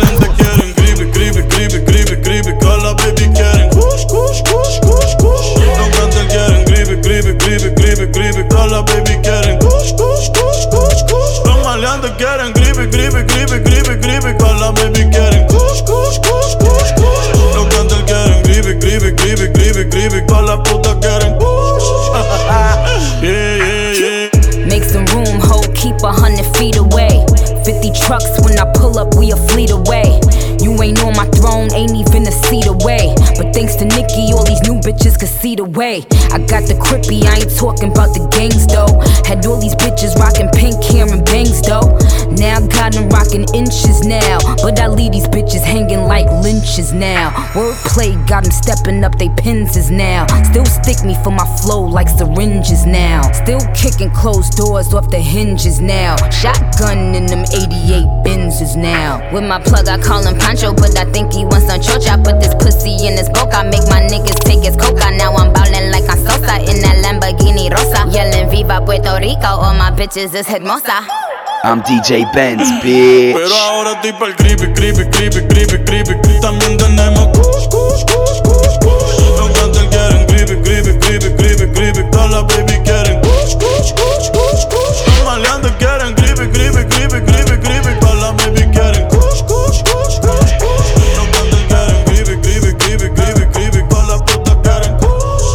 Speaker 10: Alla baby quieren kush, kush, kush, kush, kush. No cantan quieren gribe, gribe, gribe, gribe, gribe. Alla baby quieren kush, kush, kush, kush, kush. Los maleantes quieren gribe, gribe, gribe, gribe, gribe. Alla baby quieren kush, kush, kush, kush, kush. No cantan quieren gribe, gribe, gribe, gribe, gribe. Alla puta quieren kush. Yeah, yeah, yeah.
Speaker 11: Make some room, ho, keep a hundred feet away. Fifty trucks when I pull up, we a fleet away. You ain't on my throne, ain't even a seat away. But thanks to Nicki, all these new bitches bitches could see the way. I got the crippy, I ain't talking about the gangs though. Had all these bitches rocking pink hair and bangs though. Now I got them rocking inches now, but I leave these bitches hanging like lynches now. Wordplay got them stepping up they penses now. Still stick me for my flow like syringes now. Still kicking closed doors off the hinges now. Shotgun in them eighty-eight Benzes now. With my plug I call him Pancho, but I think he wants some chocha. Put this pussy in his boca, make my niggas take his coca. Now I'm ballin' like I'm Sosa in that Lamborghini Rosa. Yelling Viva Puerto Rico, all my bitches is hermosa.
Speaker 6: I'm D J Benz, bitch.
Speaker 8: Pero ahora estoy pa'l creepy, creepy, creepy, creepy, creepy. También tenemos kush, kush, kush, kush, kush. Los cantantes quieren creepy, creepy, creepy, creepy, creepy. Todas las baby quieren kush, kush, kush, kush, kush. Los maleantes quieren creepy, creepy, creepy, creepy, creepy. Todas las baby quieren kush, kush, kush, kush, kush. Los cantantes quieren creepy, creepy, creepy, creepy, creepy. Todas las putas quieren kush.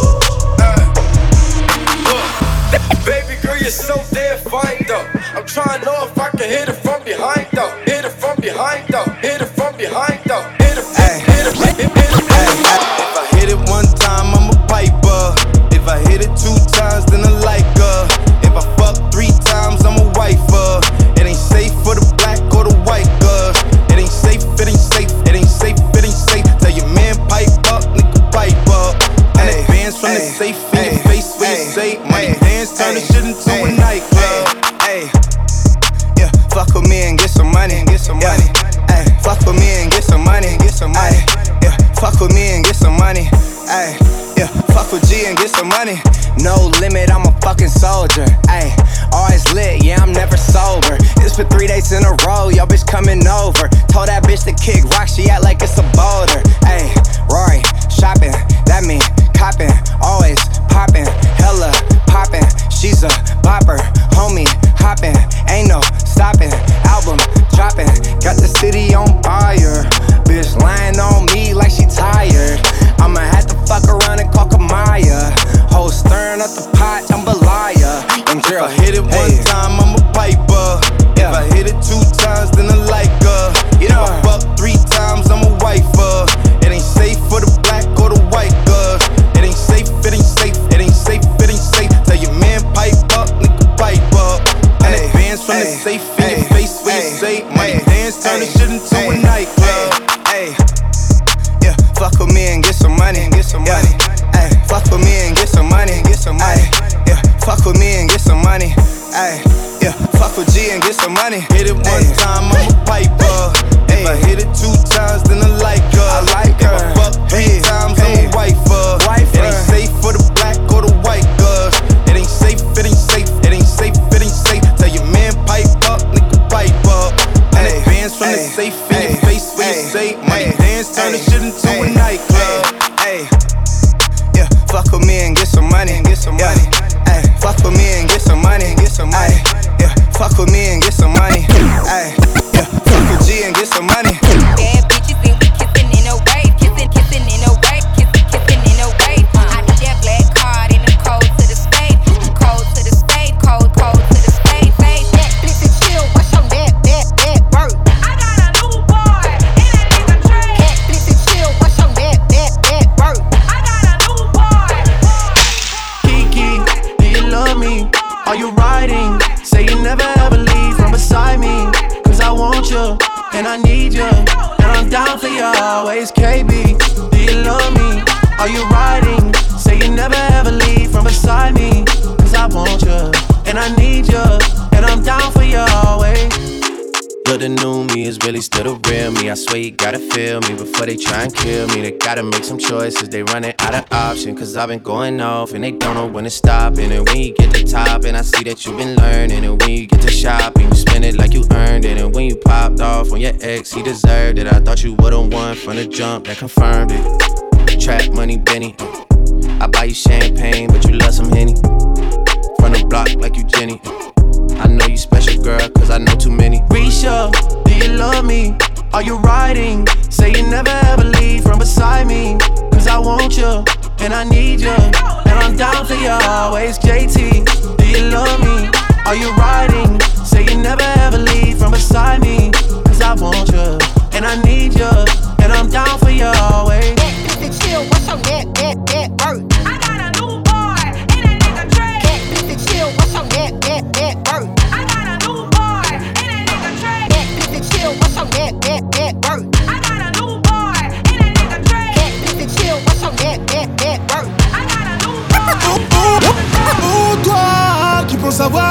Speaker 12: Baby girl, you're so damn fine though. I'm trying to know if I can hit it from behind though. Hit it from behind though. Hit it from behind though. Hit it, hit it, hit it, hit it, hit it.
Speaker 19: If I hit it one time, I'm a piper. If I hit it two times, then I like her. If I fuck three times, I'm a wifer. It ain't safe for the black or the white girl. It ain't safe, it ain't safe, it ain't safe, it ain't safe. Tell your man pipe up, nigga pipe up. And advance from the safe in your face when you say money dance, turn the shit into a nightclub.
Speaker 22: Yeah, fuck with me and get some money, get some money. Ay, fuck with me and get some money, get some money. Yeah, fuck with me and get some money. Ay, yeah, fuck with G and get some money. No limit, I'm a fucking soldier. Ay, always lit, yeah, I'm never sober. It's for three days in a row, yo bitch coming over. Told that bitch to kick rock, she act like it's a boulder. Ay, Rory, shopping, that mean copping, always popping, hella popping. She's a bopper, homie, hopping, ain't no stopping. Album dropping, got the city on fire. Bitch lying on me like she tired. I'ma have to fuck around and call Kamaya. Whole stirring up the pot, jambalaya. And
Speaker 19: If I hit it one hey. time, I'm a piper. Yeah. If I hit it two times, then I like her. You know, if I fuck three times, I'm a wifer. It ain't safe for the black or the white girl. It ain't safe, it ain't safe, it ain't safe, it ain't safe. Tell your man pipe up, nigga pipe up. And hey. advance from hey. the safe in hey. your face when hey. you say money hey. dance, turn hey. the shit into hey. a nightclub.
Speaker 22: Hey, yeah, fuck with me and get some money, get some yeah. money. Ay, fuck with me and get some money, get some money. Ay, yeah, fuck with me and get some money. Ay, yeah, fuck with G and get some money.
Speaker 19: Hit it one Ay. time, I'm a piper. If I hit it two times, then I like her.
Speaker 22: I like her.
Speaker 19: If I fuck three hey. times, hey. I'm a wifer.
Speaker 22: wifer.
Speaker 19: It ain't safe for the black or the white girls. It ain't safe, it ain't safe, it ain't safe, it ain't safe. Tell your man pipe up, nigga pipe up. And hey. advance from hey. the safe in hey. your face when hey. you say money dance, turn the shit into a nightclub.
Speaker 22: Hey, yeah, fuck with me and get some money, get some money. Ay, fuck with me and get some money, get some money. Yeah, fuck with me and get some money. Ay, yeah, fuck with G and get some money.
Speaker 23: Bad bitches think we kissing in a wave, kissing, kissing in a wave, kissing, kissing in a wave. I need that black card in the code to the spade, code to the spade, code, code to the spade, spade. That blitz and chill, what's your that, that, that bird? I got a new boy, and that nigga trade. That blitz and chill, what's your that, that, that bird? I got a new boy.
Speaker 27: Kiki, do you love me? Are you riding? Say you never ever leave from beside me. Cause I want you, and I need you, and I'm down for you always. K B, do you love me? Are you riding? Say you never ever leave from beside me. Cause I want you, and I need you, and I'm down for you always.
Speaker 28: But the new me is really still the real me. I swear you gotta feel me before they try and kill me. They gotta make some choices, they running out of options. Cause I've been going off and they don't know when to stop. And then when you get to top and I see that you've been learning. And when you get to shopping, you spend it like you earned it. And when you popped off on your ex, he deserved it. I thought you would've won from the jump, that confirmed it. Trap money, Benny. I buy you champagne, but you love some Henny. From the block like you Jenny. I know you special, girl, cause I know too many.
Speaker 27: Risha, do you love me? Are you riding? Say you never ever leave from beside me. Cause I want you, and I need you, and I'm down for you always. J T, do you love me? Are you riding? Say you never ever leave from beside me. Cause I want you, and I need you, and I'm down for you always.
Speaker 23: That, that, chill, what's your that, that, that bird?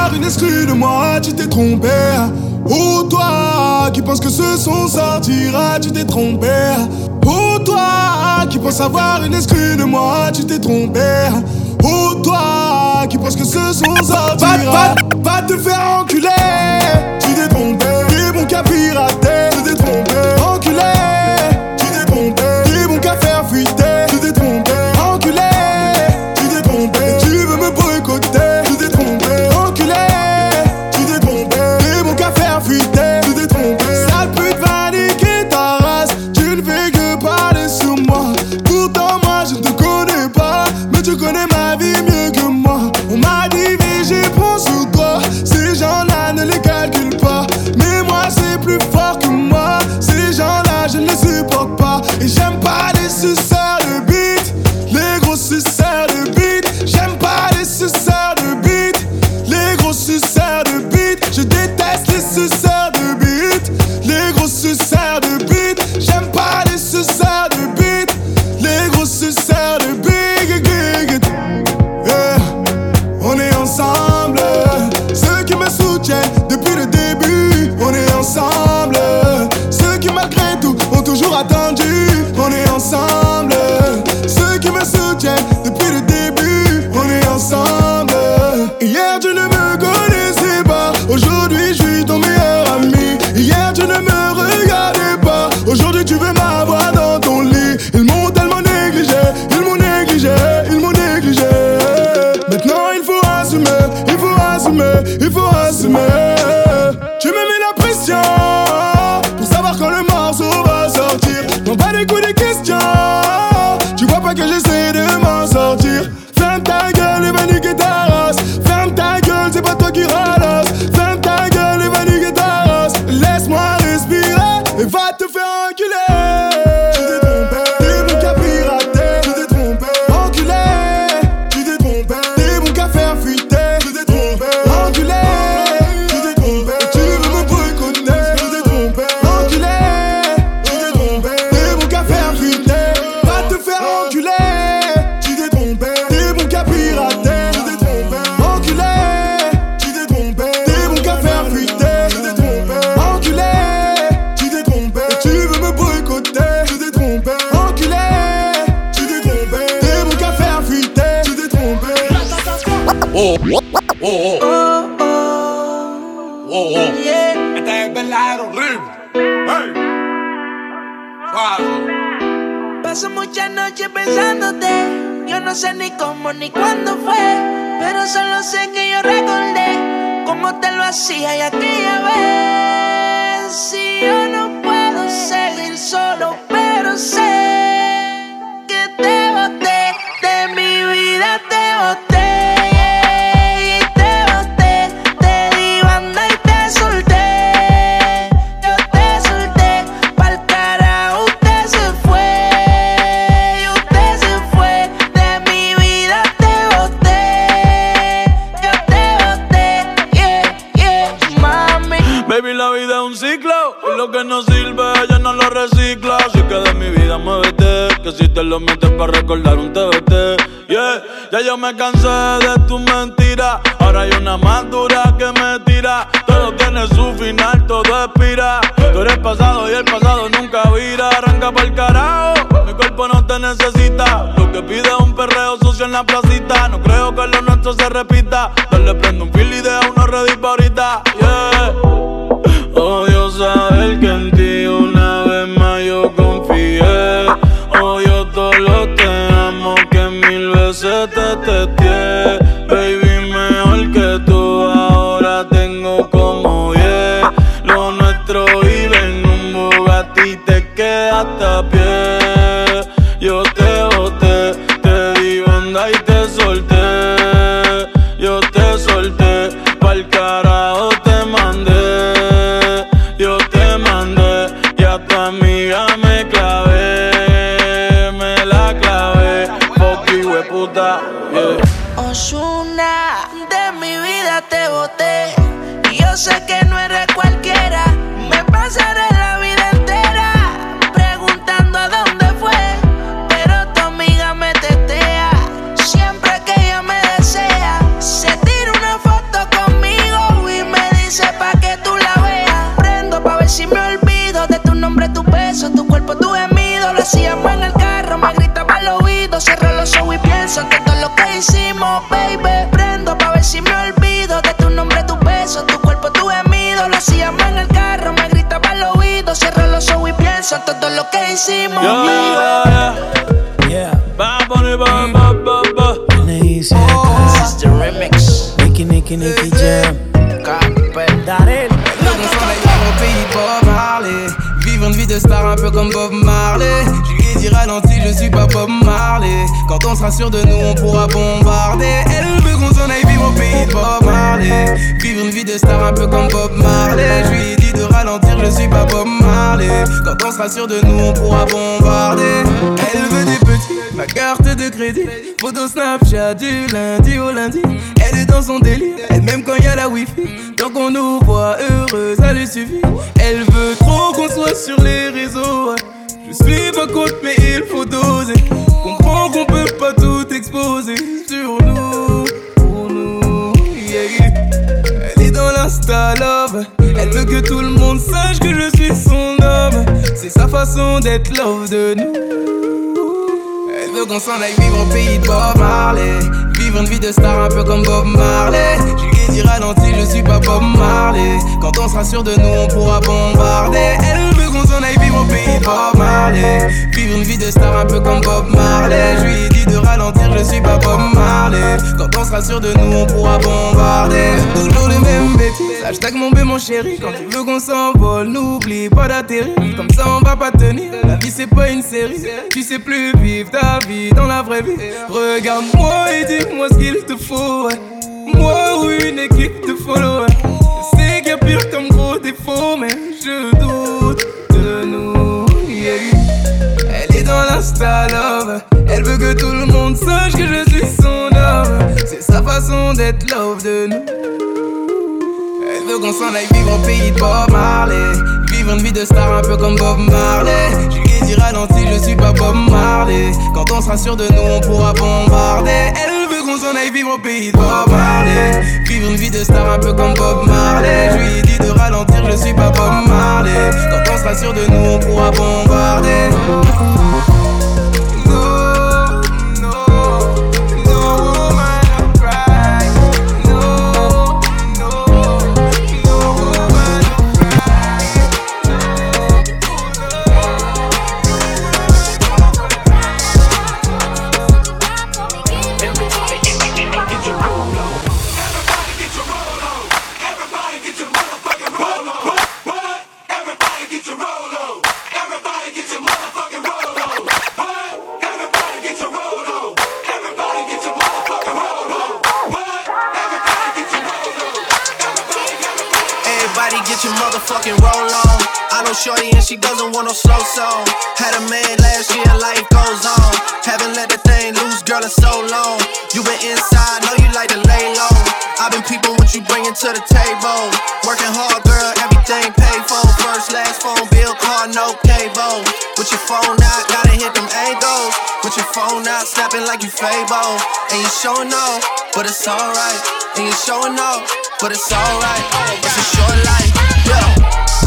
Speaker 2: savoir une exclue de moi, tu t'es trompé. Ou toi qui penses que ce son sortira, tu t'es trompé. Ou toi qui penses avoir une exclue de moi, tu t'es trompé. Ou toi qui penses que ce son sortira, va, va, va te faire enculer. Tu t'es trompé, t'es bon qu'à pirater. Tu t'es trompé, enculé. Tu t'es trompé, t'es bon qu'à faire fuiter. Tu t'es trompé, enculé. Tu t'es trompé, tu veux me boycotter. Tu t'es trompé, enculé. Tu t'es trompé, t'es bon qu'à faire fuiter. Tu t'es trompé, sale pute va niquer ta race. Tu ne fais que parler sur moi. Pourtant moi je ne te connais pas, mais tu connais ma vie mieux que moi. On m'a divisé, prends sur toi. Ces gens-là ne les calcule pas, mais moi c'est plus fort que moi. Ces gens-là je ne les supporte pas. Et j'aime pas les suceurs de beat, les gros suceurs de beat. J'aime pas les suceurs de beat, les gros suceurs de beat. Je déteste les suceurs de beat, les gros suceurs de beat. J'aime pas les suceurs de beat, les gros suceurs de beat. Yeah. On est ensemble, ceux qui me soutiennent depuis le début. On est ensemble, ceux qui malgré tout ont toujours attendu. On est ensemble, ceux qui me soutiennent depuis le début. On est ensemble. Hier tu ne me connaissais pas, aujourd'hui je suis ton meilleur ami. Hier tu ne me regardais pas, aujourd'hui tu veux m'avoir dans ton lit. Ils m'ont tellement négligé, ils m'ont négligé, ils m'ont négligé. Maintenant il faut assumer, il faut assumer, il faut assumer. Tu me mets la pression pour savoir quand le morceau va sortir. Non pas des coups de questions, tu vois pas que j'essaie de m'en sortir. Ferme ta gueule et va niquer ta race. Ferme ta gueule, c'est pas toi qui ralasse. Ferme ta gueule et va niquer ta race. Laisse-moi respirer et va te faire enculer. Tu t'es trompé, t'es bon qu'à pirater. Tu t'es trompé, enculé. Tu t'es trompé, t'es bon qu'à faire fuiter. Tu t'es trompé, enculé. Tu t'es trompé, tu veux me boycotter. Tu t'es trompé, enculé. Tu t'es trompé, t'es bon qu'à faire fuiter. Va te faire enculer. Tu t'es trompé, t'es bon qu'à pirater. Tu t'es trompé, enculé. Tu t'es trompé, t'es bon qu'à faire fuiter. Tu t'es trompé, enculé. Tu t'es trompé, tu veux me boycotter. Tu t'es trompé, enculé. Tu t'es trompé, t'es bon qu'à faire fuiter. Tu t'es trompé.
Speaker 7: Oh, oh, oh, oh, oh, oh. Esta es verdadero horrible. Hey. Suave.
Speaker 14: Paso muchas noches pensándote. Yo no sé ni cómo ni cuándo fue, pero solo sé que yo recordé cómo te lo hacía y aquella vez. Si yo no puedo seguir solo, pero sé que te boté, de mi vida te boté. Y te boté, te di banda y te solté. Yo te solté, pa'l carajo usted se fue. Y usted se fue, de mi vida te boté. Yo te boté, yeah, yeah, mami.
Speaker 8: Baby, la vida es un ciclo y lo que no sirve ella no lo recicla. Así que de mi vida muévete, que si te lo metes para recordar un T B T. Yeah, ya yo me cansé de tu mentira. Ahora hay una más dura que me tira. Todo tiene su final, todo expira. Tú eres pasado y el pasado nunca vira. Arranca pa'l carajo, mi cuerpo no te necesita. Lo que pide es un perreo sucio en la placita. No creo que lo nuestro se repita. Dale, prende un fil y deja uno ready pa' ahorita. Yeah. Odio saber que en ti una vez más yo confié. Odio todo lo te amo que mil veces te testé. Baby, mejor que tú ahora tengo como diez. Lo nuestro vive en un Bugatti y te quedaste a pie. Yo te boté, te di banda y te solté. Yo te solté, pa'l carajo te mandé. Yo te mandé y a tu amiga me clavé. Me la clavé, fuck you, hueputa, yeah.
Speaker 14: Ozuna, de mi vida te boté. Y yo sé que no eres cualquiera. Me pasaré la vida entera preguntando a hacíamos en el carro, me gritaba al oído. Cierro los ojos y pienso en todo lo que hicimos, baby. Prendo pa' ver si me olvido de tu nombre, tu beso, tu cuerpo, tu gemido. Lo hacíamos en el carro, me gritaba al oído. Cierro los ojos y pienso en todo lo que hicimos,
Speaker 8: yeah,
Speaker 14: baby.
Speaker 8: Yeah, yeah. Bam, bam, bam, bam, bam, bam.
Speaker 14: This is the remix.
Speaker 27: Nicky, Nicky, Nicky Jam.
Speaker 14: Darel.
Speaker 16: Vivre une vie de star un peu comme Bob Marley. Je lui ai dit ralenti, je suis pas Bob Marley. Quand on sera sûr de nous, on pourra bombarder. Elle veut qu'on s'en aille vivre au pays de Bob Marley. Vivre une vie de star un peu comme Bob Marley. Je lui ai dit de ralentir, je suis pas Bob Marley. Quand on sera sûr de nous, on pourra bombarder. Elle veut des petits, ma carte de crédit. Photo Snapchat du lundi au lundi. Elle est dans son délire, et même quand y a la wifi. Tant qu'on nous voit heureux, ça lui suffit. Elle veut trop qu'on soit sur les réseaux. Je suis pas contre, mais il faut doser. Comprends qu'on peut pas tout exposer sur nous, pour nous, yeah, yeah. Elle est dans l'insta love. Elle veut que tout le monde sache que je suis son homme. C'est sa façon d'être love de nous. Elle veut qu'on s'en aille vivre au pays de Bob Marley. Vivre une vie de star un peu comme Bob Marley. Je lui ai dit ralenti, je suis pas Bob Marley. Quand on sera sûr de nous, on pourra bombarder. Elle veut qu'on s'en aille vivre au pays de Bob Marley. Vivre une vie de star un peu comme Bob Marley. Je lui ai dit de ralentir, je suis pas Bob Marley. Quand on sera sûr de nous, on pourra bombarder. Toujours les mêmes bêtises, hashtag mon bé mon chéri. Quand tu veux qu'on s'envole, n'oublie pas d'atterrir. Comme ça on va pas tenir, la vie c'est pas une série. Tu sais plus vivre ta vie dans la vraie vie. Regarde-moi et dis-moi ce qu'il te faut. Moi ou une équipe de followers. Je sais qu'il y a pire comme gros défaut, mais je doute de nous, yeah. Elle est dans l'insta love. Elle veut que tout le monde sache que je suis son homme. C'est sa façon d'être love de nous. Elle veut qu'on s'en aille vivre au pays de Bob Marley. Vivre une vie de star un peu comme Bob Marley. Je lui ai dit ralenti, je suis pas Bob Marley. Quand on sera sûr de nous, on pourra bombarder. Elle veut qu'on s'en aille vivre au pays de Bob Marley. Vivre une vie de star un peu comme Bob Marley. Je lui ai dit de ralentir, je suis pas Bob Marley. Quand on sera sûr de nous, on pourra bombarder.
Speaker 28: Shorty and she doesn't want no slow song. Had a man last year, life goes on. Haven't let the thing loose, girl, in so long. You been inside, know you like to lay low. I've been peeping what you bringing to the table. Working hard, girl, everything paid for. First, last phone bill, car, no cable. With your phone out, gotta hit them angles. With your phone out, snapping like you Fable. And you showing off, but it's alright. And you showing off, but it's alright. It's a short life, yeah.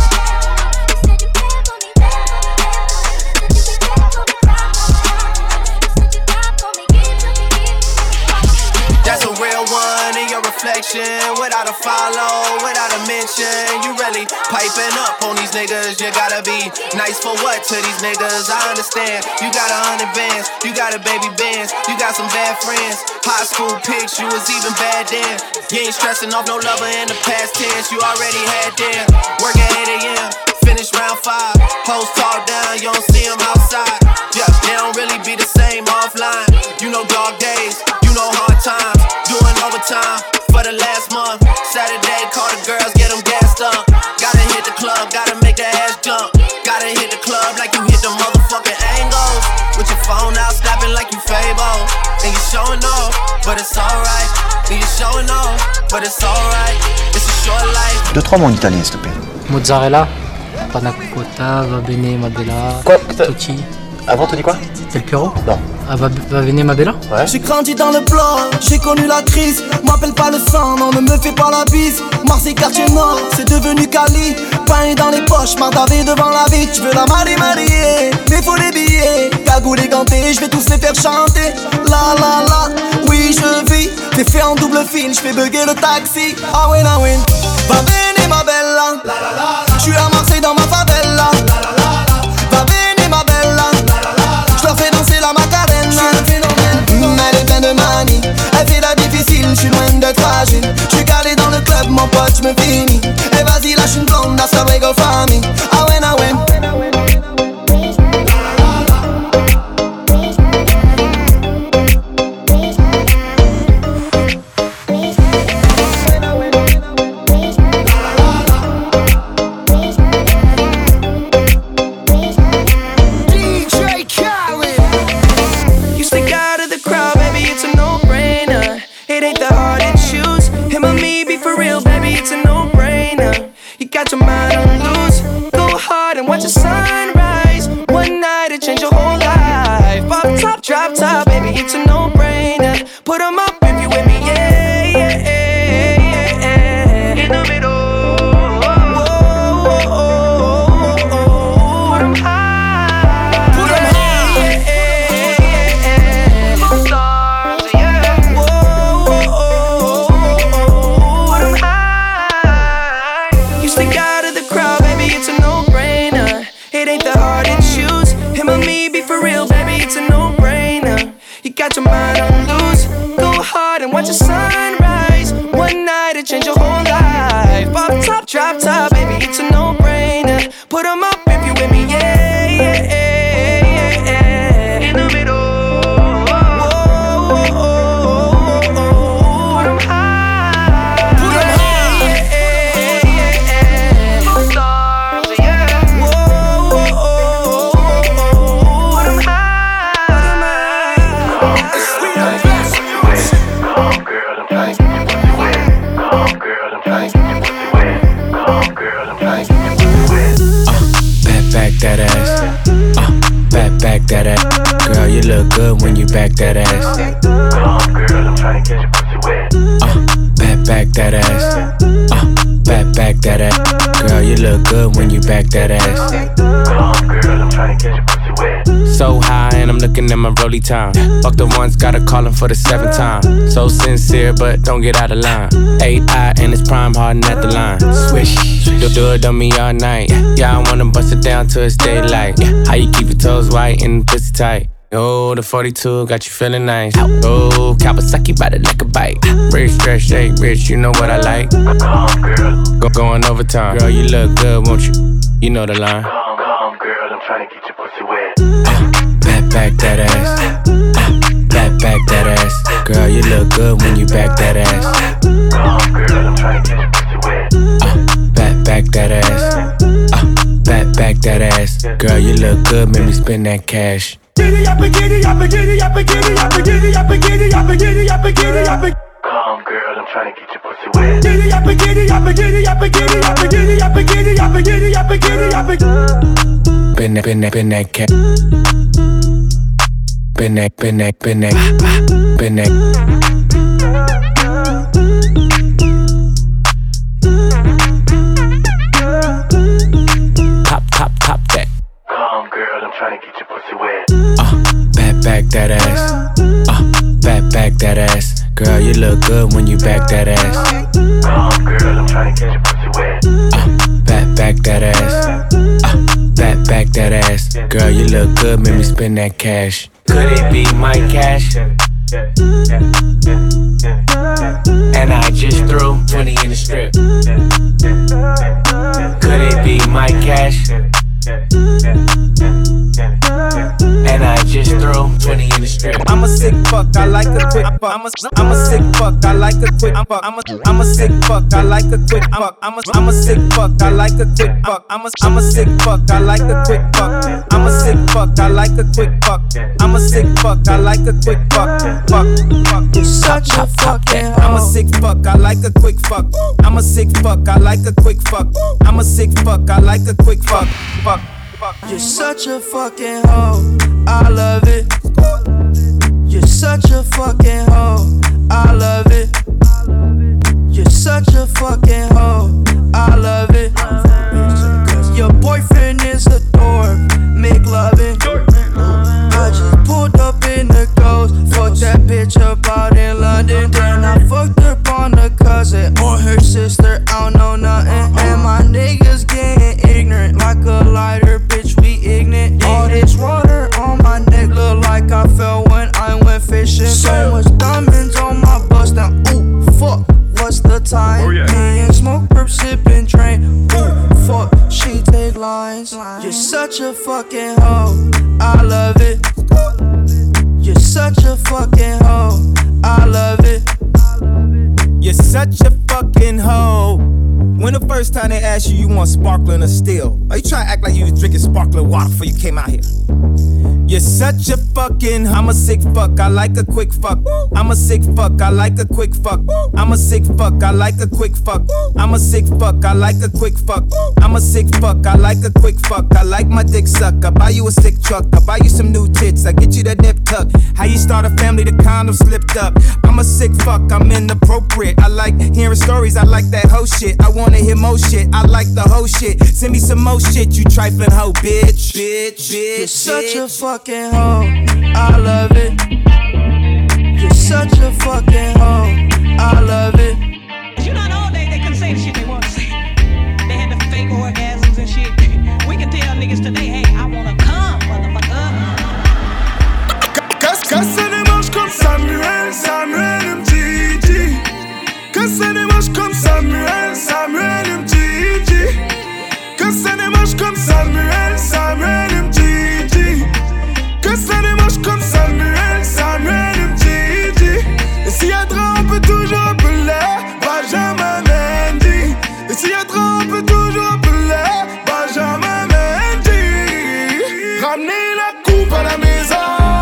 Speaker 28: That's a real one in your reflection. Without a follow, without a mention. You really piping up on these niggas. You gotta be nice for what to these niggas? I understand. You got a hundred bands, you got a baby bands, you got some bad friends. High school pics, you was even bad then. You ain't stressing off no lover in the past tense. You already had them. Working eight a.m., finish round five. Hoes talk down, you don't see them outside. Yeah, they don't really be the same offline. You know dog days, you know hard times. Doing overtime for the last month. Saturday, call the girls, get them gassed up. Gotta hit the club, gotta make the ass jump. Gotta hit the club like you hit the motherfucking angles. With your phone out, snapping like you Fable. And you showing off, but it's alright. And you showing off, but it's alright. It's a short life.
Speaker 17: Deux, trois mots en italien, s'il te plaît.
Speaker 18: Mozzarella, panna cotta, va bene, madela, tutti.
Speaker 15: Avant, te dis quoi?
Speaker 17: Del Piero?
Speaker 15: Non.
Speaker 17: Ah, va, va venir ma bella?
Speaker 15: Ouais.
Speaker 3: J'ai grandi dans le bloc, j'ai connu la crise. M'appelle pas le sang, non, ne me fais pas la bise. Marseille, quartier nord, c'est devenu Cali. Pain dans les poches, mardavé devant la vie. Tu veux la marier, marier, mais faut les billets. Cagoule et ganté, je vais tous les faire chanter. La la la, oui je vis. T'es fait en double fil, je fais bugger le taxi. Ah win, ah win, va venir ma bella. Je suis à Marseille dans ma favela. Va venir ma bella. Je leur fais danser la Macarena. Mmh, elle est pleine de manie, elle fait la difficile, je suis loin d'être fragile. Je suis calé dans le club, mon pote, je me finis. Et vas-y, lâche une blonde, that's the way go family. Ah ouais, ah ouais.
Speaker 14: Watch the sunrise. One night it changed your whole life. Pop top, drop top, baby, it's a no-brainer. Put 'em up if you with me, yeah, yeah, yeah, yeah, yeah. In the middle, whoa, whoa, whoa, whoa. Put 'em high, put 'em high, yeah, yeah, yeah, yeah. Both stars, yeah. Whoa, whoa, whoa, whoa. Put 'em high. You stick out of the crowd, baby, it's a no-brainer. It ain't that hard to choose. Him or me, be for real, baby, it's a no-brainer. You got your mind on loose. Go hard and watch the sunrise. One night it changed your whole life. Pop top, drop top, baby, it's a no-brainer. Put 'em up if you with me, yeah, yeah, yeah, yeah. In the middle, whoa, whoa, whoa, whoa. Put 'em high, put 'em high, yeah, yeah, yeah, yeah. Both stars, yeah. Whoa, whoa, whoa, whoa. Put 'em high, put 'em high. We the best music.
Speaker 10: Come girl, I'm trying to get your pussy wet. Come girl, I'm trying to get your pussy wet. Come girl, I'm trying to get your pussy wet.
Speaker 28: Back, back that ass. Uh, back, back that ass. Girl, you look good when you back that ass.
Speaker 10: Come girl, I'm trying to get your pussy wet.
Speaker 28: Uh, back, back that ass. Uh, back, back that ass. Girl, you look good when you back that ass.
Speaker 10: Come girl, I'm trying to get your pussy wet.
Speaker 28: So high and I'm looking at my rollie time. Fuck the ones, gotta call him for the seventh time. So sincere, but don't get out of line. Eight eye and it's prime hardin' at the line. Swish, do, do it on me all night. Yeah, I wanna bust it down till it's daylight. How you keep your toes white and the pussy tight? Oh, the forty-two got you feeling nice. Oh, Kawasaki bout it like a bike. Rich, stretch, shake, rich, you know what I like.
Speaker 10: Come girl,
Speaker 28: Go going overtime. Girl, you look good, won't you? You know the line.
Speaker 10: come, come girl, I'm trying to get your pussy wet.
Speaker 28: Back, back that ass. Back, back that ass. Girl, you look good when you back that ass.
Speaker 10: Come girl, I'm trying to get your pussy wet.
Speaker 28: Back, back that ass. Back, back that ass. Girl, you look good, make me spend that cash.
Speaker 7: Giddy up, giddy up, giddy up, giddy up, giddy up, giddy up, giddy up, giddy up.
Speaker 10: Come girl, I'm trying to get your pussy wet.
Speaker 7: Giddy up, giddy up, giddy up, giddy up, giddy up, giddy up, giddy up, giddy up.
Speaker 28: Been that, been that, been that cat. Been that, been that, been that, been that. Pop, pop, pop that.
Speaker 10: Come girl, I'm trying to get your pussy wet.
Speaker 28: Uh, back, back that ass. Uh, back, back that ass. Girl, you look good when you back that ass.
Speaker 10: Come girl, I'm trying to get your pussy wet.
Speaker 28: Uh, back, back that ass. Uh, back, back that ass. Girl, you look good, make me spend that cash. Could it be my cash? And I just threw twenty in the strip. Could it be my cash? And I just threw twenty in the strip.
Speaker 22: I'm a sick fuck, I like a quick fuck. I'm a, I'm a sick fuck, I like a quick fuck. I'm a, I'm a sick fuck, I like a quick fuck. I'm a, I'm a sick fuck, I like a quick fuck. I'm a, I'm a sick fuck, I like a quick fuck. I'm a sick fuck, I like a quick fuck. I'm a sick fuck, I like a quick fuck. Fuck, fuck.
Speaker 14: You're such a fucking
Speaker 22: I'm a sick fuck, I like a quick fuck. I'm a sick fuck, I like a quick fuck. I'm a sick fuck, I like a quick fuck. Fuck.
Speaker 14: You're such a fucking hoe, I love it. You're such a fucking hoe, I love it. You're such a fucking hoe, I love it. Cause your boyfriend is a dork, make loving. I just pulled up in the ghost, fucked that bitch up out in London. Then I fucked up on the cousin or her sister, I don't know nothing. And my niggas getting ignorant like a lighter, bitch, we ignorant. All this water on my neck look like I fell when I went fishing. So much diamonds on my bust now, ooh, fuck. What's the time? Oh, yeah. Me and smoke, perp, sippin', train. Ooh, fuck, she take lines. You're such a fucking hoe, I love it. You're such a fucking hoe, I love it.
Speaker 22: You're such a fucking hoe. When the first time they asked you, you want sparkling or still? Are you trying to act like you was drinking sparkling water before you came out here? You're such a fucking, I'm a sick fuck, I like a quick fuck. I'm a sick fuck, I like a quick fuck. I'm a sick fuck, I like a quick fuck. I'm a sick fuck, I like a quick fuck. I'm a sick fuck, I like a quick fuck. I like my dick suck, I buy you a sick truck. I buy you some new tits, I get you that nip tuck. How you start a family, the condom slipped up. I'm a sick fuck, I'm inappropriate. I like hearing stories, I like that hoe shit. I wanna hear more shit, I like the whole shit. Send me some more shit, you trifling hoe, bitch. Bitch, bitch,
Speaker 14: You're such a fucking hoe, I love it. You're such a fucking hoe, I love it.
Speaker 1: You know, all day they couldn't say the shit they want to say. They had the fake orgasms and shit. We can tell niggas today, hey, I wanna come, motherfucker.
Speaker 2: Que ça démarche comme Samuel, Samuel M T G. Que ça démarche comme Samuel, Samuel M T G. Que ça démarche comme Samuel, Samuel M T G. Que ça démarche comme Samuel, Samuel M T G. Et s'il y a trop, on peut toujours appeler Benjamin Mendy. Et s'il y a trop, on peut toujours appeler Benjamin Mendy. Ramenez la coupe à la maison.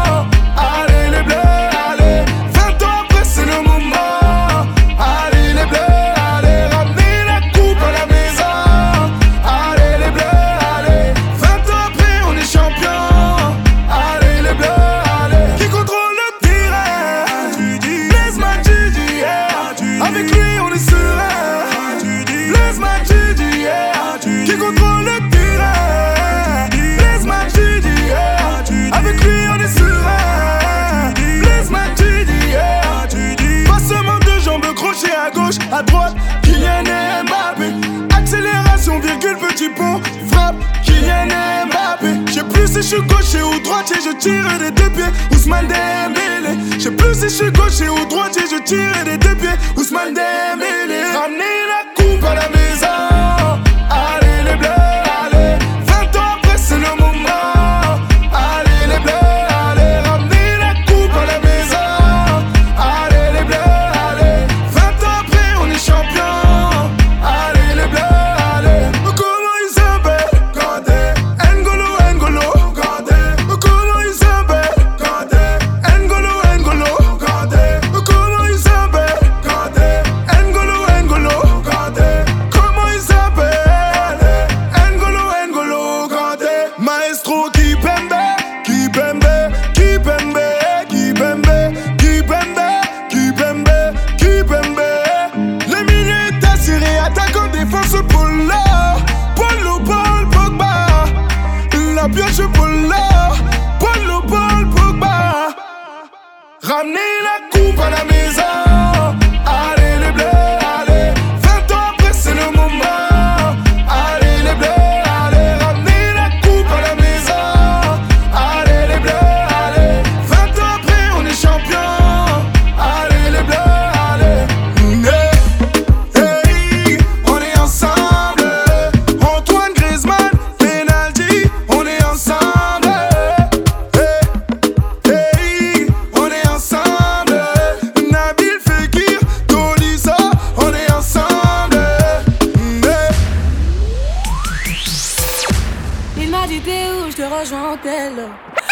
Speaker 2: Allez les bleus, allez. Vingt ans après c'est le moment. Allez les bleus, allez. Ramenez la coupe à la maison. Allez les bleus, allez. Vingt ans après on est champion. Allez les bleus, allez. Qui contrôle le terrain? Blaise Matuidi, yeah. Avec lui on est serein. Blaise Matuidi, yeah. Qui contrôle le terrain? Blaise Matuidi, yeah. Avec lui on est serein. Blaise Matuidi, yeah. Passement de jambes, crochet à gauche, à droite. Kylian Mbappé. Accélération, virgule, petit pont. Frappe, Kylian Mbappé. J'sais plus si j'suis gaucher ou droitier, je tire des deux pieds. Ousmane Dembélé. J'sais plus si j'suis gaucher ou droitier, je tire des deux pieds. Ousmane Dembélé. Ramenez la coupe à la maison. Allez les bleus, allez. Vingt ans après c'est le moment. Allez les bleus, allez. Ramenez la coupe à la maison. Allez les bleus, allez. Vingt ans après on est champion. Allez les bleus, allez. Comment ils s'appellent? Kanté, N'Golo, N'Golo, Kanté. Comment ils s'appellent? Kanté, N'Golo, N'Golo, Kanté. Comment ils s'appellent? Kanté, N'Golo, N'Golo, Kanté. Comment ils s'appellent? N'Golo, N'Golo, Kanté. Maestro Kipembe, Kipembe, Kipembe, Kipembe, Kipembe, Kipembe, Kipembe. Les minutes assurées, attaquant, défense, Polo, Polo, Paul, Pogba. La pioche, Polo, Polo, Paul, Pogba. Ramenez la coupe à la maison. Allez les bleus, allez. Vingt ans après c'est le moment. Allez les bleus, allez. Ramenez la coupe à la maison. Allez les bleus, allez. Vingt ans après on est champion. Allez les bleus, allez. Hey, hey, on est ensemble. Antoine Griezmann, penalty, on est ensemble. Hey, hey, on est ensemble. Nabil Fekir, Tolisso, on est ensemble. Hey.
Speaker 15: Il m'a dit t'es où, je te rejoins en tel.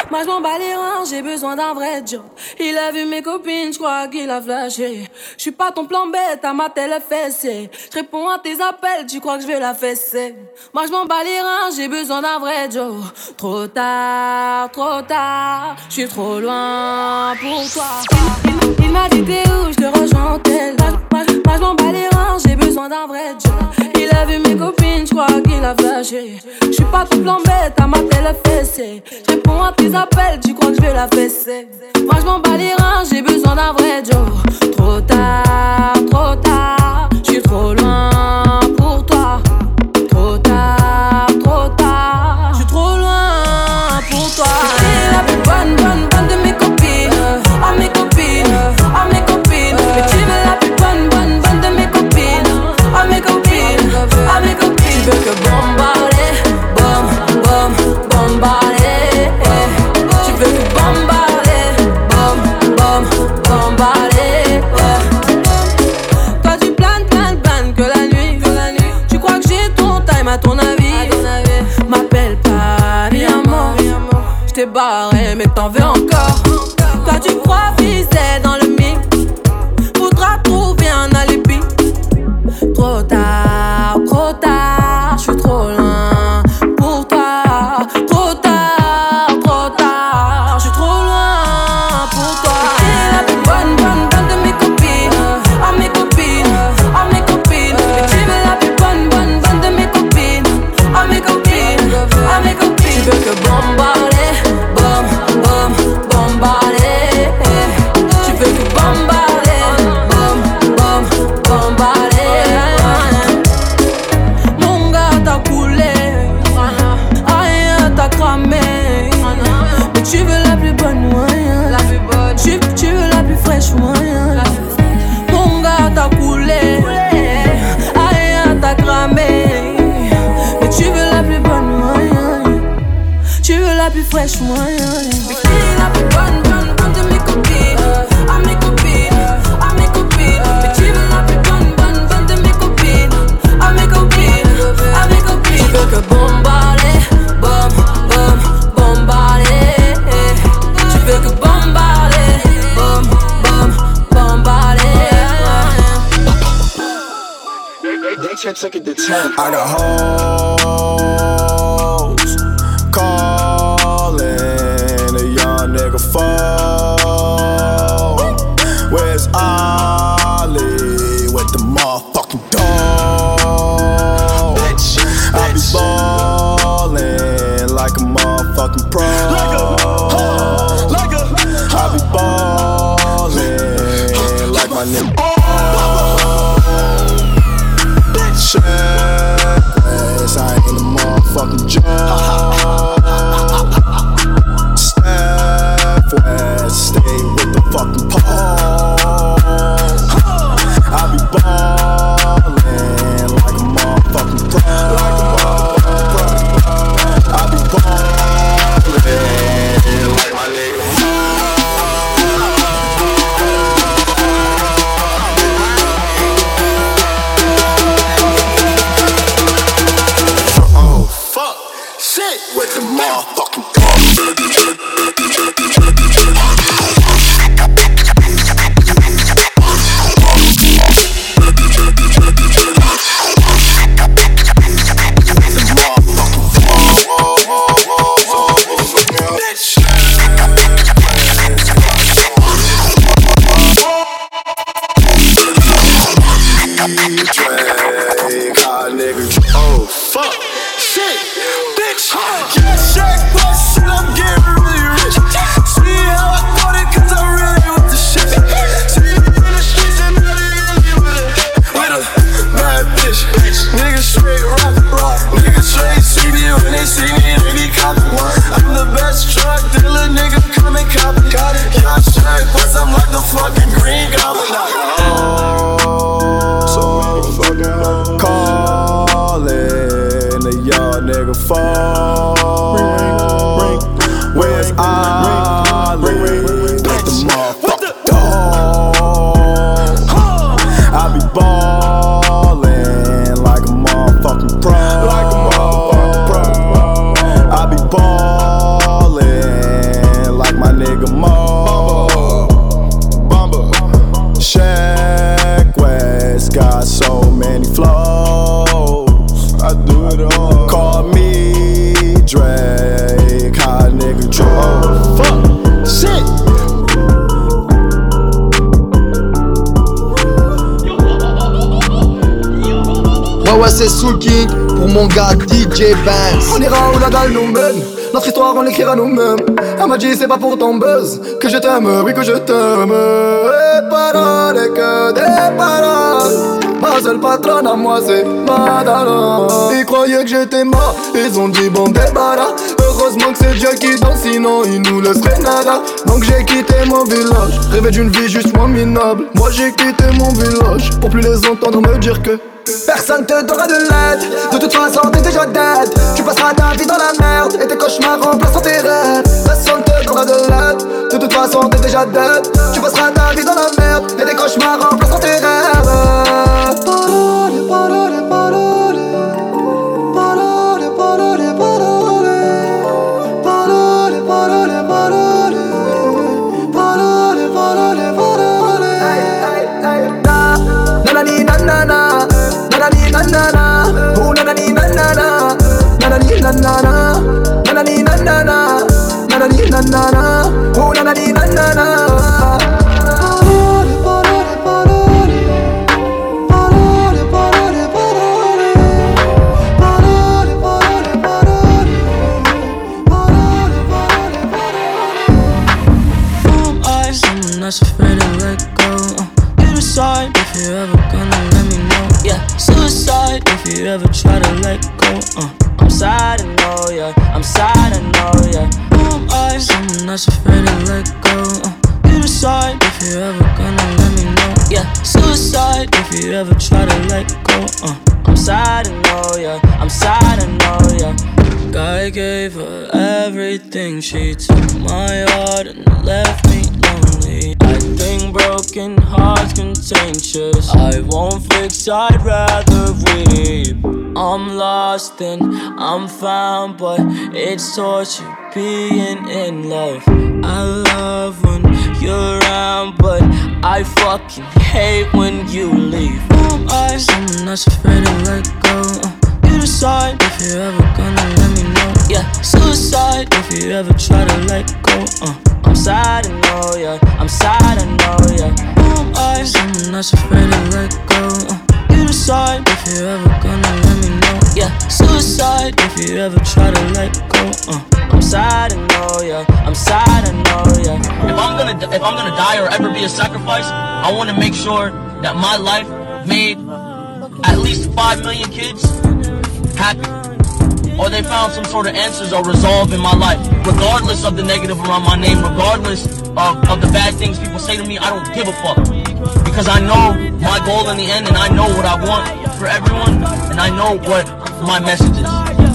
Speaker 13: Moi je m'en bats les reins, j'ai besoin d'un vrai job. Il a vu mes copines, je crois qu'il a flashé. Je suis pas ton plan bête, à ma télé fessée. Je réponds à tes appels, tu crois que je vais la fesser. Moi je m'en bats les reins, j'ai besoin d'un vrai job. Trop tard, trop tard, je suis trop loin pour toi. Il, il, il m'a dit t'es où, je te rejoins en tel. Moi, moi je m'en bats les reins, j'ai besoin d'un vrai job. Il a vu mes copines, je crois qu'il a flashé. Je suis pas ton plan bête, à ma télé fessée. Je réponds à tes appels, tu crois que je vais la fesser. Moi je m'en bats les reins, j'ai besoin d'un vrai job. Trop tard, trop tard, je suis trop loin pour toi. Trop tard, trop tard, je suis trop loin pour toi. T'es la plus bonne, bonne, bonne de mes copines. À mes copines, à mes copines. Mais tu veux la plus bonne, bonne, bonne de mes copines. À mes copines, à mes copines. Tu veux que bombarder, bom, bom, bombarder. Tu veux que bombarder, bom, bom, bombarder. Toi tu planes, planes, planes que la nuit, que la nuit. Tu crois que j'ai ton time à ton avis. M'appelle pas, viens mort. J't'ai barré mais t'en veux encore. Toi tu crois viser dans le mix. Faudra trouver un alibi. Trop tard, trop tard, je suis trop loin pour toi. Trop tard, trop tard, je suis trop loin pour toi. T'es la plus bonne, bonne, bonne de mes copines. À mes copines, à mes copines. Mais tu veux la plus bonne, bonne, bonne de mes copines. À mes copines, à mes copines. Tu veux que bombarder, bom, bom, bombarder. Tu veux que bombarder, bom, bom, bombarder. Mon gars t'as coulé, rien t'as cramé. Mais tu veux la plus bonne moyen. Tu, tu veux la plus fraîche moyen. Mon gars t'as coulé, rien t'as cramé. Mais tu veux la plus bonne moyen. Tu veux la plus fraîche moyen. Mais qui est la plus bonne, bonne, bonne de mes copines. À mes copines, à mes copines. Mais tu veux la plus bonne, bonne, bonne de mes copines. À mes copines, à mes copines. Tu veux que bombarder, bom, bom, bombarder. Tu veux que bombarder, bom, bom, bombarder.
Speaker 19: I got hoes calling a young nigga phone. Where's Ollie with the motherfucking dog? I be ballin' like a motherfucking pro. I be ballin' like my nigga. Yes, I ain't a motherfucking joke. Steph West, stay with the fucking pole. I be ballin' like a motherfucking pro. I be ballin' like my nigga. With the motherfucking oh fuck, shit, bitch. Yeah, Shaq, but shit, I'm getting really rich. See how I got it, cause I'm really with the shit. See me in the streets and really, really with a, with a bad bitch. Niggas straight rock, rock. Niggas straight see me when they see me, they be copping. I'm the best drug dealer, nigga, come and cop it. Yeah, Shaq, but I'm like the fucking Green Goblin. Oh, so motherfucking calling a young nigga phone. Where's Ollie with the motherfucking dog? I be ballin' like a motherfucking pro. Like a motherfucking pro. I be ballin'
Speaker 3: Soul King pour mon gars D J Benz. On ira où la dalle nous mène, notre histoire on l'écrira nous-mêmes. Elle m'a dit c'est pas pour ton buzz que je t'aime, oui que je t'aime. Et paroles que des paroles. Ma seule patronne à moi c'est Madara. Ils croyaient que j'étais mort, ils ont dit bon débarras. Heureusement que c'est Dieu qui danse, sinon il nous laisserait nada. Donc j'ai quitté mon village, rêvé d'une vie juste moins minable. Moi j'ai quitté mon village, pour plus les entendre me dire que personne te donnera de l'aide. De toute façon t'es déjà dead. Tu passeras ta vie dans la merde et tes cauchemars remplaceront tes rêves. Personne te donnera de l'aide. De toute façon t'es déjà dead. Tu passeras ta vie dans la merde et tes cauchemars remplaceront tes rêves. Parole, parole, parole. Parole, parole, parole. Parole, parole, parole. Parole, parole, parole. Nanani nanana. Nanani nanana. Oh nanani nanana. Nanani nanana. Nanani nanana. Nanani nanana. Oh nanani nanana.
Speaker 13: Not afraid to let go. Uh, you decide if you're ever gonna let me know. Yeah, suicide if you ever try to let go. Uh, I'm sad, I know, yeah. I'm sad, I know, yeah. Who am I? Someone that's afraid to let go. Uh, you decide if you're ever gonna let me know. Yeah, suicide if you ever try to let go. Uh, I'm sad, I know, yeah. I'm sad, I know, yeah. I gave her everything. She took my heart and left me lonely. I think broken hearts contagious. I won't fix, I'd rather weep. I'm lost and I'm found, but it's torture being in love. I love when you're around, but I fucking hate when you leave. Who am I? Someone that's afraid to let go. Uh, you decide if you're ever gonna let me know. Yeah, suicide if you ever try to let go. Uh, I'm sad, I know, yeah. I'm sad, I know, yeah. Who am I? Someone that's afraid to let go. Uh, you decide if you're ever gonna let me know. Yeah, suicide if you ever try to let go. Uh, I'm sad, I know, yeah. I'm sad, I know, yeah.
Speaker 4: If I'm gonna, if I'm gonna die or ever be a sacrifice, I want to make sure that my life made at least five million kids happy, or they found some sort of answers or resolve in my life, regardless of the negative around my name, regardless of, of the bad things people say to me. I don't give a fuck, because I know my goal in the end, and I know what I want for everyone, and I know what my message is.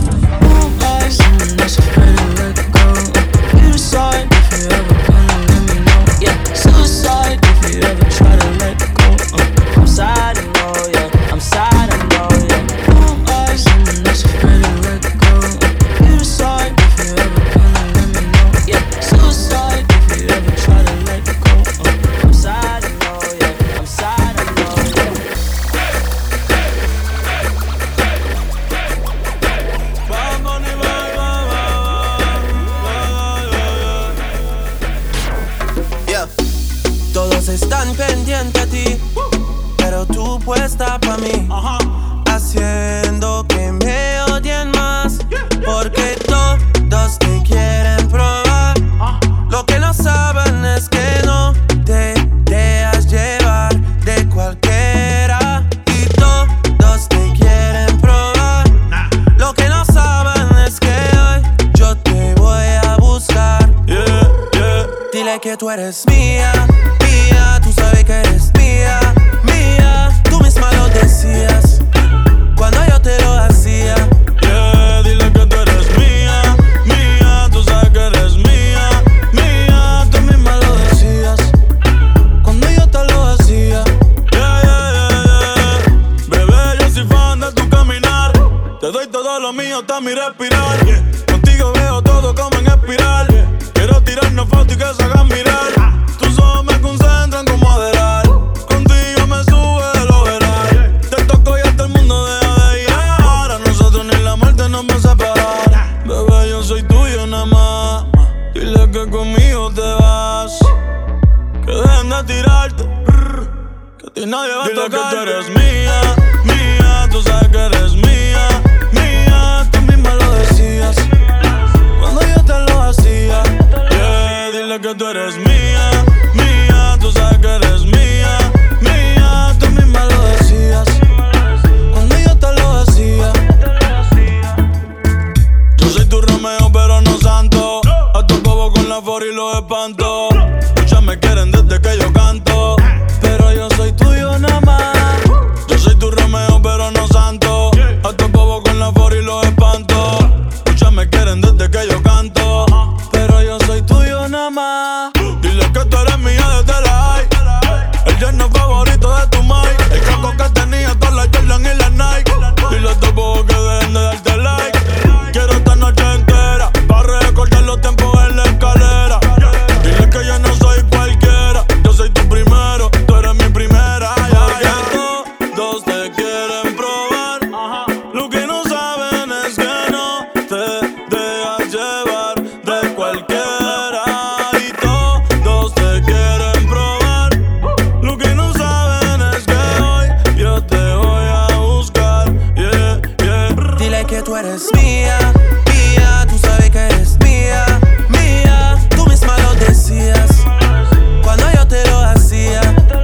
Speaker 13: You decide if you ever gonna let me know. Yeah, suicide if you ever try to let go. Uh, I'm sad, I know, yeah. I'm sad, I know, yeah. Who am I? Someone that's afraid to let go. Uh, you decide if you ever gonna let me know. Yeah, suicide if you ever try to let go. Uh, I'm sad, I know, yeah. I'm sad, I know, yeah.
Speaker 27: Todos están pendientes a ti, pero tú puesta pa' mí, haciendo que me odien más, porque todos te quieren probar. Lo que no saben es que no te dejas llevar de cualquiera, y todos te quieren probar. Lo que no saben es que hoy yo te voy a buscar. Yeah, yeah. Dile que tú eres mía. Tú sabes que eres mía, mía. Tú misma lo decías cuando yo te lo hacía.
Speaker 8: Yeah, dile que tú eres mía, mía. Tú sabes que eres mía, mía. Tú misma lo decías cuando yo te lo hacía. Yeah, yeah, yeah, yeah. Bebé, yo soy fan de tu caminar. Te doy todo lo mío hasta mi respirar. Yeah. Contigo veo todo como en espiral. Yeah. Quiero tirarnos fotos y que se hagan mirar. Tus ojos me concentran como adelar. Contigo me sube de lo veral. Te toco y hasta el mundo deja de llegar. A nosotros ni la muerte nos va a separar. Bebé, yo soy tuyo nada más. Dile que conmigo te vas. Que dejen de tirarte. Que a ti nadie va a tocarte. Dile que tú eres mía, mía. Tú sabes que eres mía. la for y los espanto. Muchas me quieren desde que yo canto, pero yo soy tuyo nada más. Yo soy tu Romeo pero no santo. A tu bobo con la for y los espanto. Muchas me quieren desde que yo canto, pero yo soy tuyo nada más. Dile que tú eres mía desde la high. El yerno favorito de tu mai. El caco que tenía todas las Jordan y las Nike. Dile a tu bobo que dejen de darte like. Quiero esta noche entera pa' recordar los tiempos en la escalera. Dile que yo no soy cualquiera. Yo soy tu primero, tú eres mi primera. Ya, ya. Todos te quieren probar. Lo que no saben es que no te dejas llevar de cualquiera. Y todos te quieren probar. Lo que no saben es que hoy yo te voy a buscar. Yeah, yeah.
Speaker 27: Dile que tú eres mía, mía. Tú sabes que eres mía, mía. Tú misma lo decías cuando yo te lo hacía.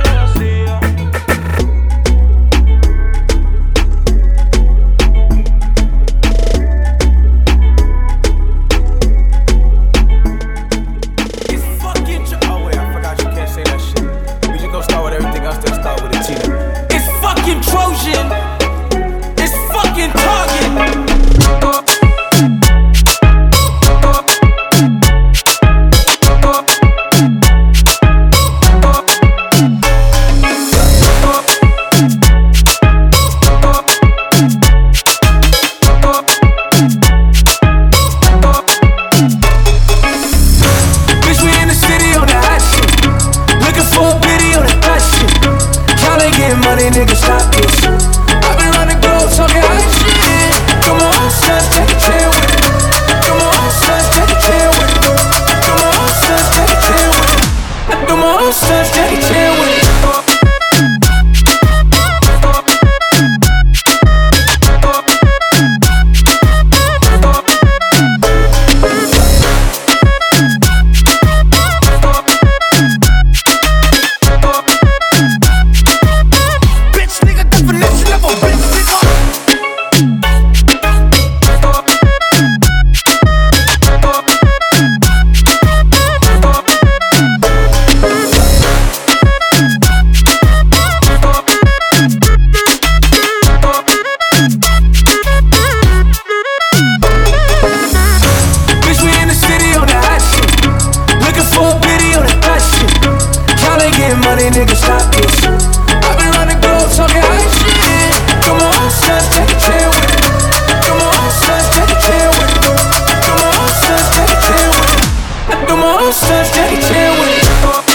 Speaker 9: It's fucking tr- Oh wait, I forgot you can't say that shit. We just gonna start with everything else, then start with a T. It's fucking Trojan. It's fucking Target. Bitch, we in the city on that hot shit. Looking for a video, that hot shit. Y'all ain't getting money, nigga, stop this shit. I've been running globe talking hot shit. Come on, son, take a chair with it. Come on, son, take a chair with it. Come on, son, take a chair with it. Come on, son, take a chair with it. Bitch, nigga, definition of a bitch, nigga. Bitch, we in the city on that hot shit. Looking for a video, that hot shit. Y'all ain't getting money, nigga, stop this shit. I've been running globe talking hot shit. Come on, son, take a chair with it. Come on, son, take a chair with it. Come on, son, take a chair with it. Come on, son, take a chair with it.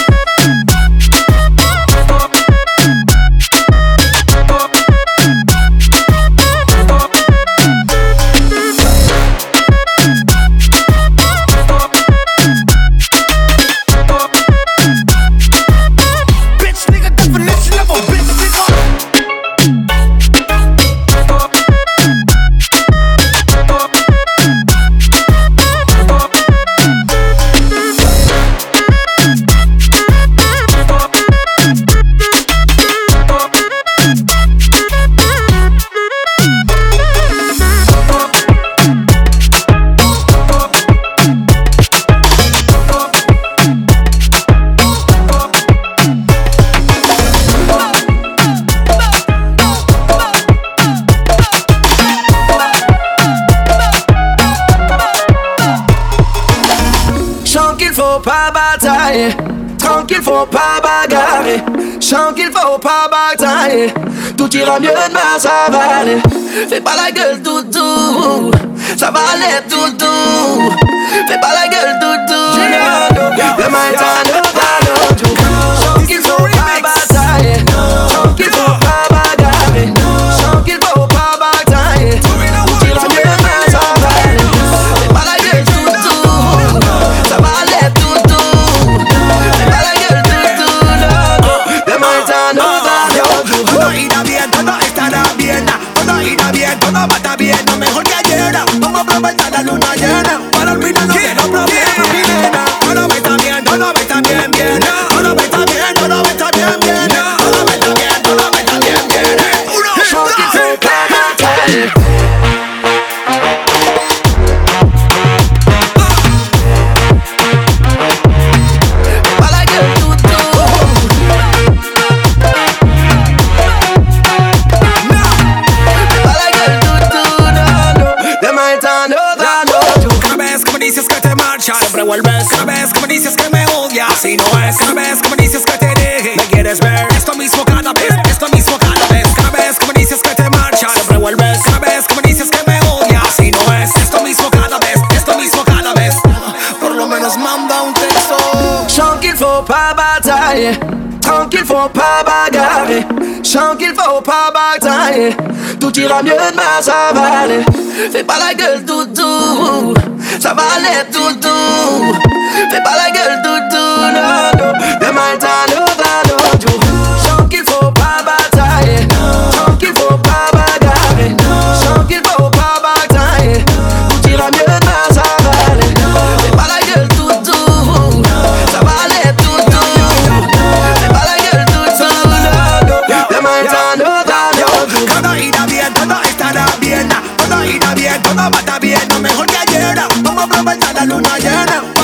Speaker 9: Bitch, nigga, definition of a bitch, nigga. Chant qu'il faut pas batailler, tranquille faut pas bagarrer. Chant qu'il faut pas batailler, tout ira mieux demain, ça va aller. Fais pas la gueule toutou, ça va aller toutou. Fais pas la gueule toutou, demain est un autre jour. Chant qu'il faut pas batailler, chant qu'il faut pas bagarrer. Chant qu'il faut pas batailler, tout ira mieux demain, ça va aller. Fais pas la gueule toutou, ça va aller toutou. Fais pas la gueule toutou, demain est un autre jour. Todo irá bien, todo estará bien. Todo irá bien, todo va a estar bien. No mejor que ayer. Vamos a aprovechar la luna llena para olvidarnos de los problemas, mi nena. Todo va a estar bien, todo va a estar bien, bien. Todo va a estar bien, todo va a estar bien, bien. Todo va a estar bien, todo va a estar bien, bien. Uno, dos, tres.
Speaker 5: me dices que te marchas, siempre vuelves. Cada vez que me dices que me odias, así no es. Cada vez que me dices que te deje, me quieres ver. Esto mismo cada vez, esto mismo cada vez. Cada vez que me dices que te marchas, siempre vuelves. Cada vez que me dices que me odias, así no es. Esto mismo cada vez, esto mismo cada vez. Por lo menos manda un texto.
Speaker 9: Chant qu'il faut pas batailler, tranquille faut pas bagarrer. Chant qu'il faut pas batailler, tout ira mieux demain ça va aller. Fais pas la gueule toutou, ça va aller toutou. Fais pas la gueule toutou, non non. Demain t'as le ballon du chant qu'il faut pas batailler, chant qu'il faut pas bagarrer. Chant qu'il faut pas batailler, tout ira mieux demain ça va aller. Fais pas la gueule toutou, ça va aller toutou. Fais pas la gueule toutou, non non. Demain t'as le ballon du
Speaker 5: todo irá bien, todo estará bien. Todo irá bien, todo va a estar bien. No mejor que ayer, vamos a aprovechar la luna llena.